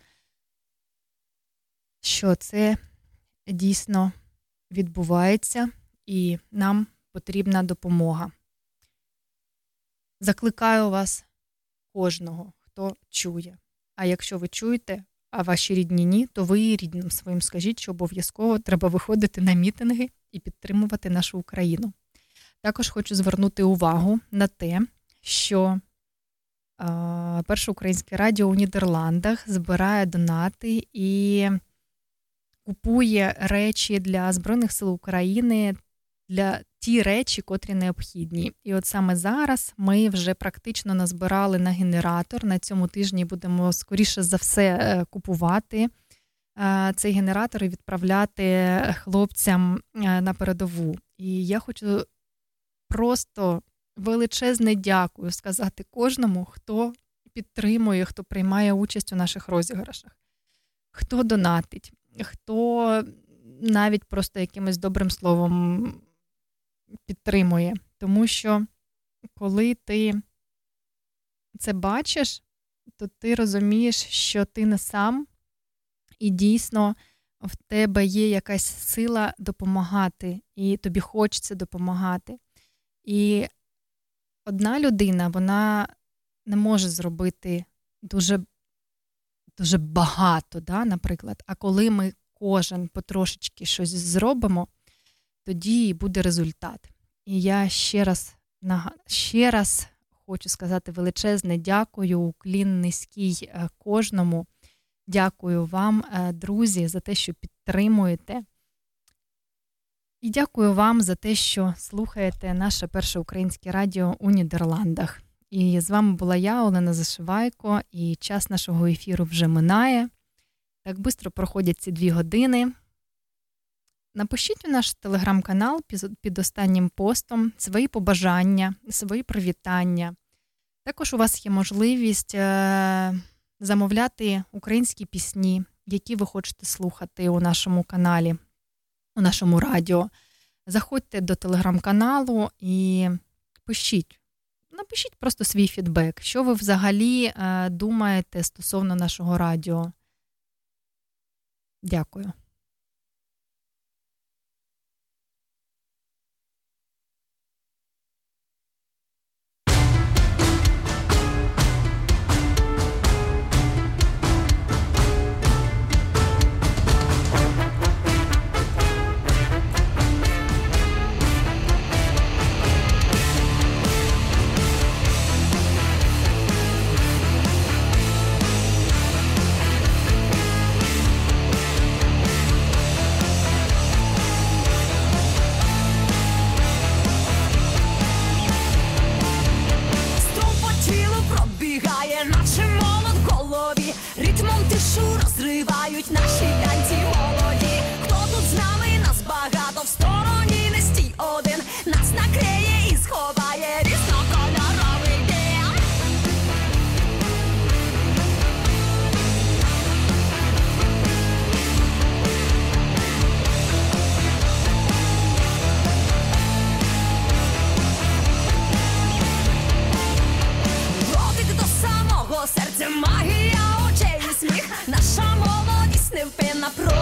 що це дійсно відбувається і нам потрібна допомога. Закликаю вас, кожного, хто чує. А якщо ви чуєте, а ваші рідні ні, то ви і рідним своїм скажіть, що обов'язково треба виходити на мітинги і підтримувати нашу Україну. Також хочу звернути увагу на те, що Перше українське радіо у Нідерландах збирає донати і купує речі для Збройних сил України, для ті речі, котрі необхідні. І от саме зараз ми вже практично назбирали на генератор. На цьому тижні будемо, скоріше за все, купувати цей генератор і відправляти хлопцям на передову. І я хочу просто величезне дякую сказати кожному, хто підтримує, хто приймає участь у наших розіграшах, хто донатить, хто навіть просто якимось добрим словом підтримує. Тому що коли ти це бачиш, то ти розумієш, що ти не сам, і дійсно в тебе є якась сила допомагати, і тобі хочеться допомагати. І одна людина, вона не може зробити дуже, дуже багато, да, наприклад. А коли ми кожен потрошечки щось зробимо, тоді і буде результат. І я ще раз хочу сказати величезне дякую, уклін низький кожному. Дякую вам, друзі, за те, що підтримуєте. І дякую вам за те, що слухаєте наше перше українське радіо у Нідерландах. І з вами була я, Олена Зашивайко, і час нашого ефіру вже минає. Так швидко проходять ці 2 години. Напишіть у наш телеграм-канал під останнім постом свої побажання, свої привітання. Також у вас є можливість замовляти українські пісні, які ви хочете слухати у нашому каналі, у нашому радіо. Заходьте до телеграм-каналу і пишіть. Напишіть просто свій фідбек, що ви взагалі думаєте стосовно нашого радіо. Дякую. Розривають наші танці молоді. Хто тут з нами? Нас багато, в стороні не стій один. Нас накриє і сховає різнокольоровий дим. Дотик до самого серця, магія очей і сміх. Наша молодість невпинна.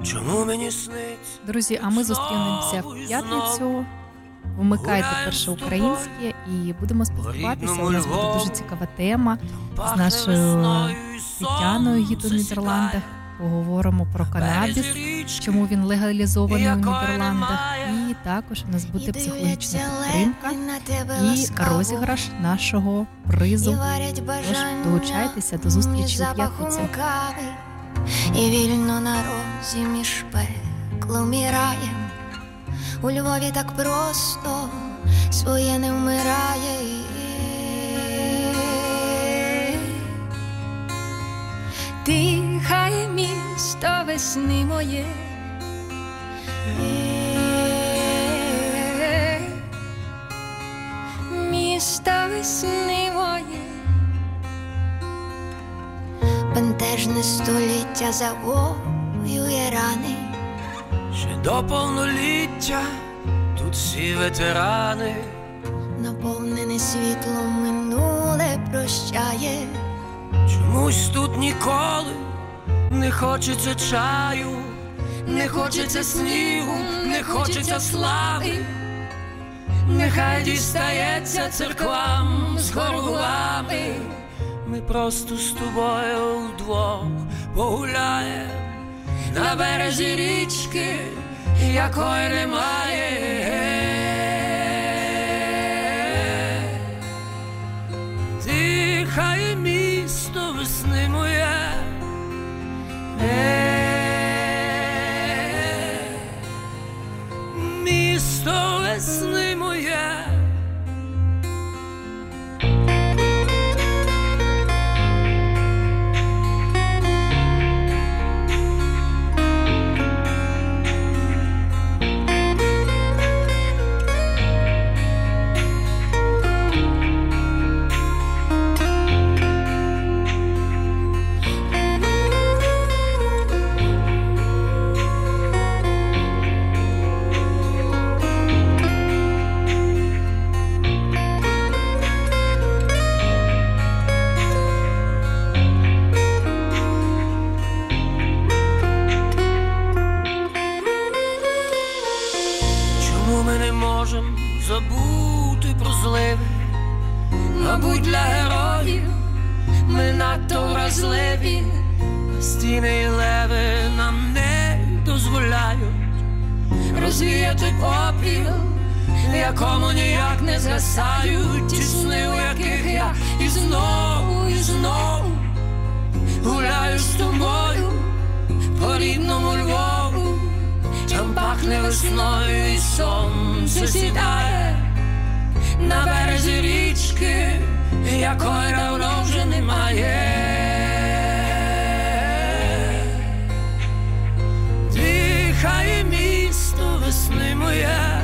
Чому мені сниться? Друзі, а ми зустрінемося в п'ятницю. Вмикайте перше українське і будемо спілкуватися. У нас буде дуже цікава тема з нашою Тетяною гід у Нідерландах. Поговоримо про канабіс, чому він легалізований у Нідерландах. І також у нас буде психологічна підтримка і розіграш нашого призу. Тож долучайтеся до зустрічі у п'ятницю. І вільно на розі між пеклом і раєм. У Львові так просто своє не вмирає. Дихає місто весни моє. Місто весни моє. Бентежне століття завоює рани. Ще до повноліття тут всі ветерани. Наповнене світлом минуле прощає. Чомусь тут ніколи не хочеться чаю, не хочеться снігу, не хочеться слави. Нехай дістається церквам з горгулами. Ми просто з тобою вдвох погуляєм на березі річки, якої немає. Дихає місто весни моє. Місто весни моє. Забути про зливи, мабуть, для героїв ми надто вразливі, а стіни і леви нам не дозволяють розвіяти попіл, в якому ніяк не згасають ті сни, у яких я і знову гуляю з тобою по рідному Львову. Там пахне весною і сонце сідає на березі річки, якої давно вже немає. Дихає місто весни моє.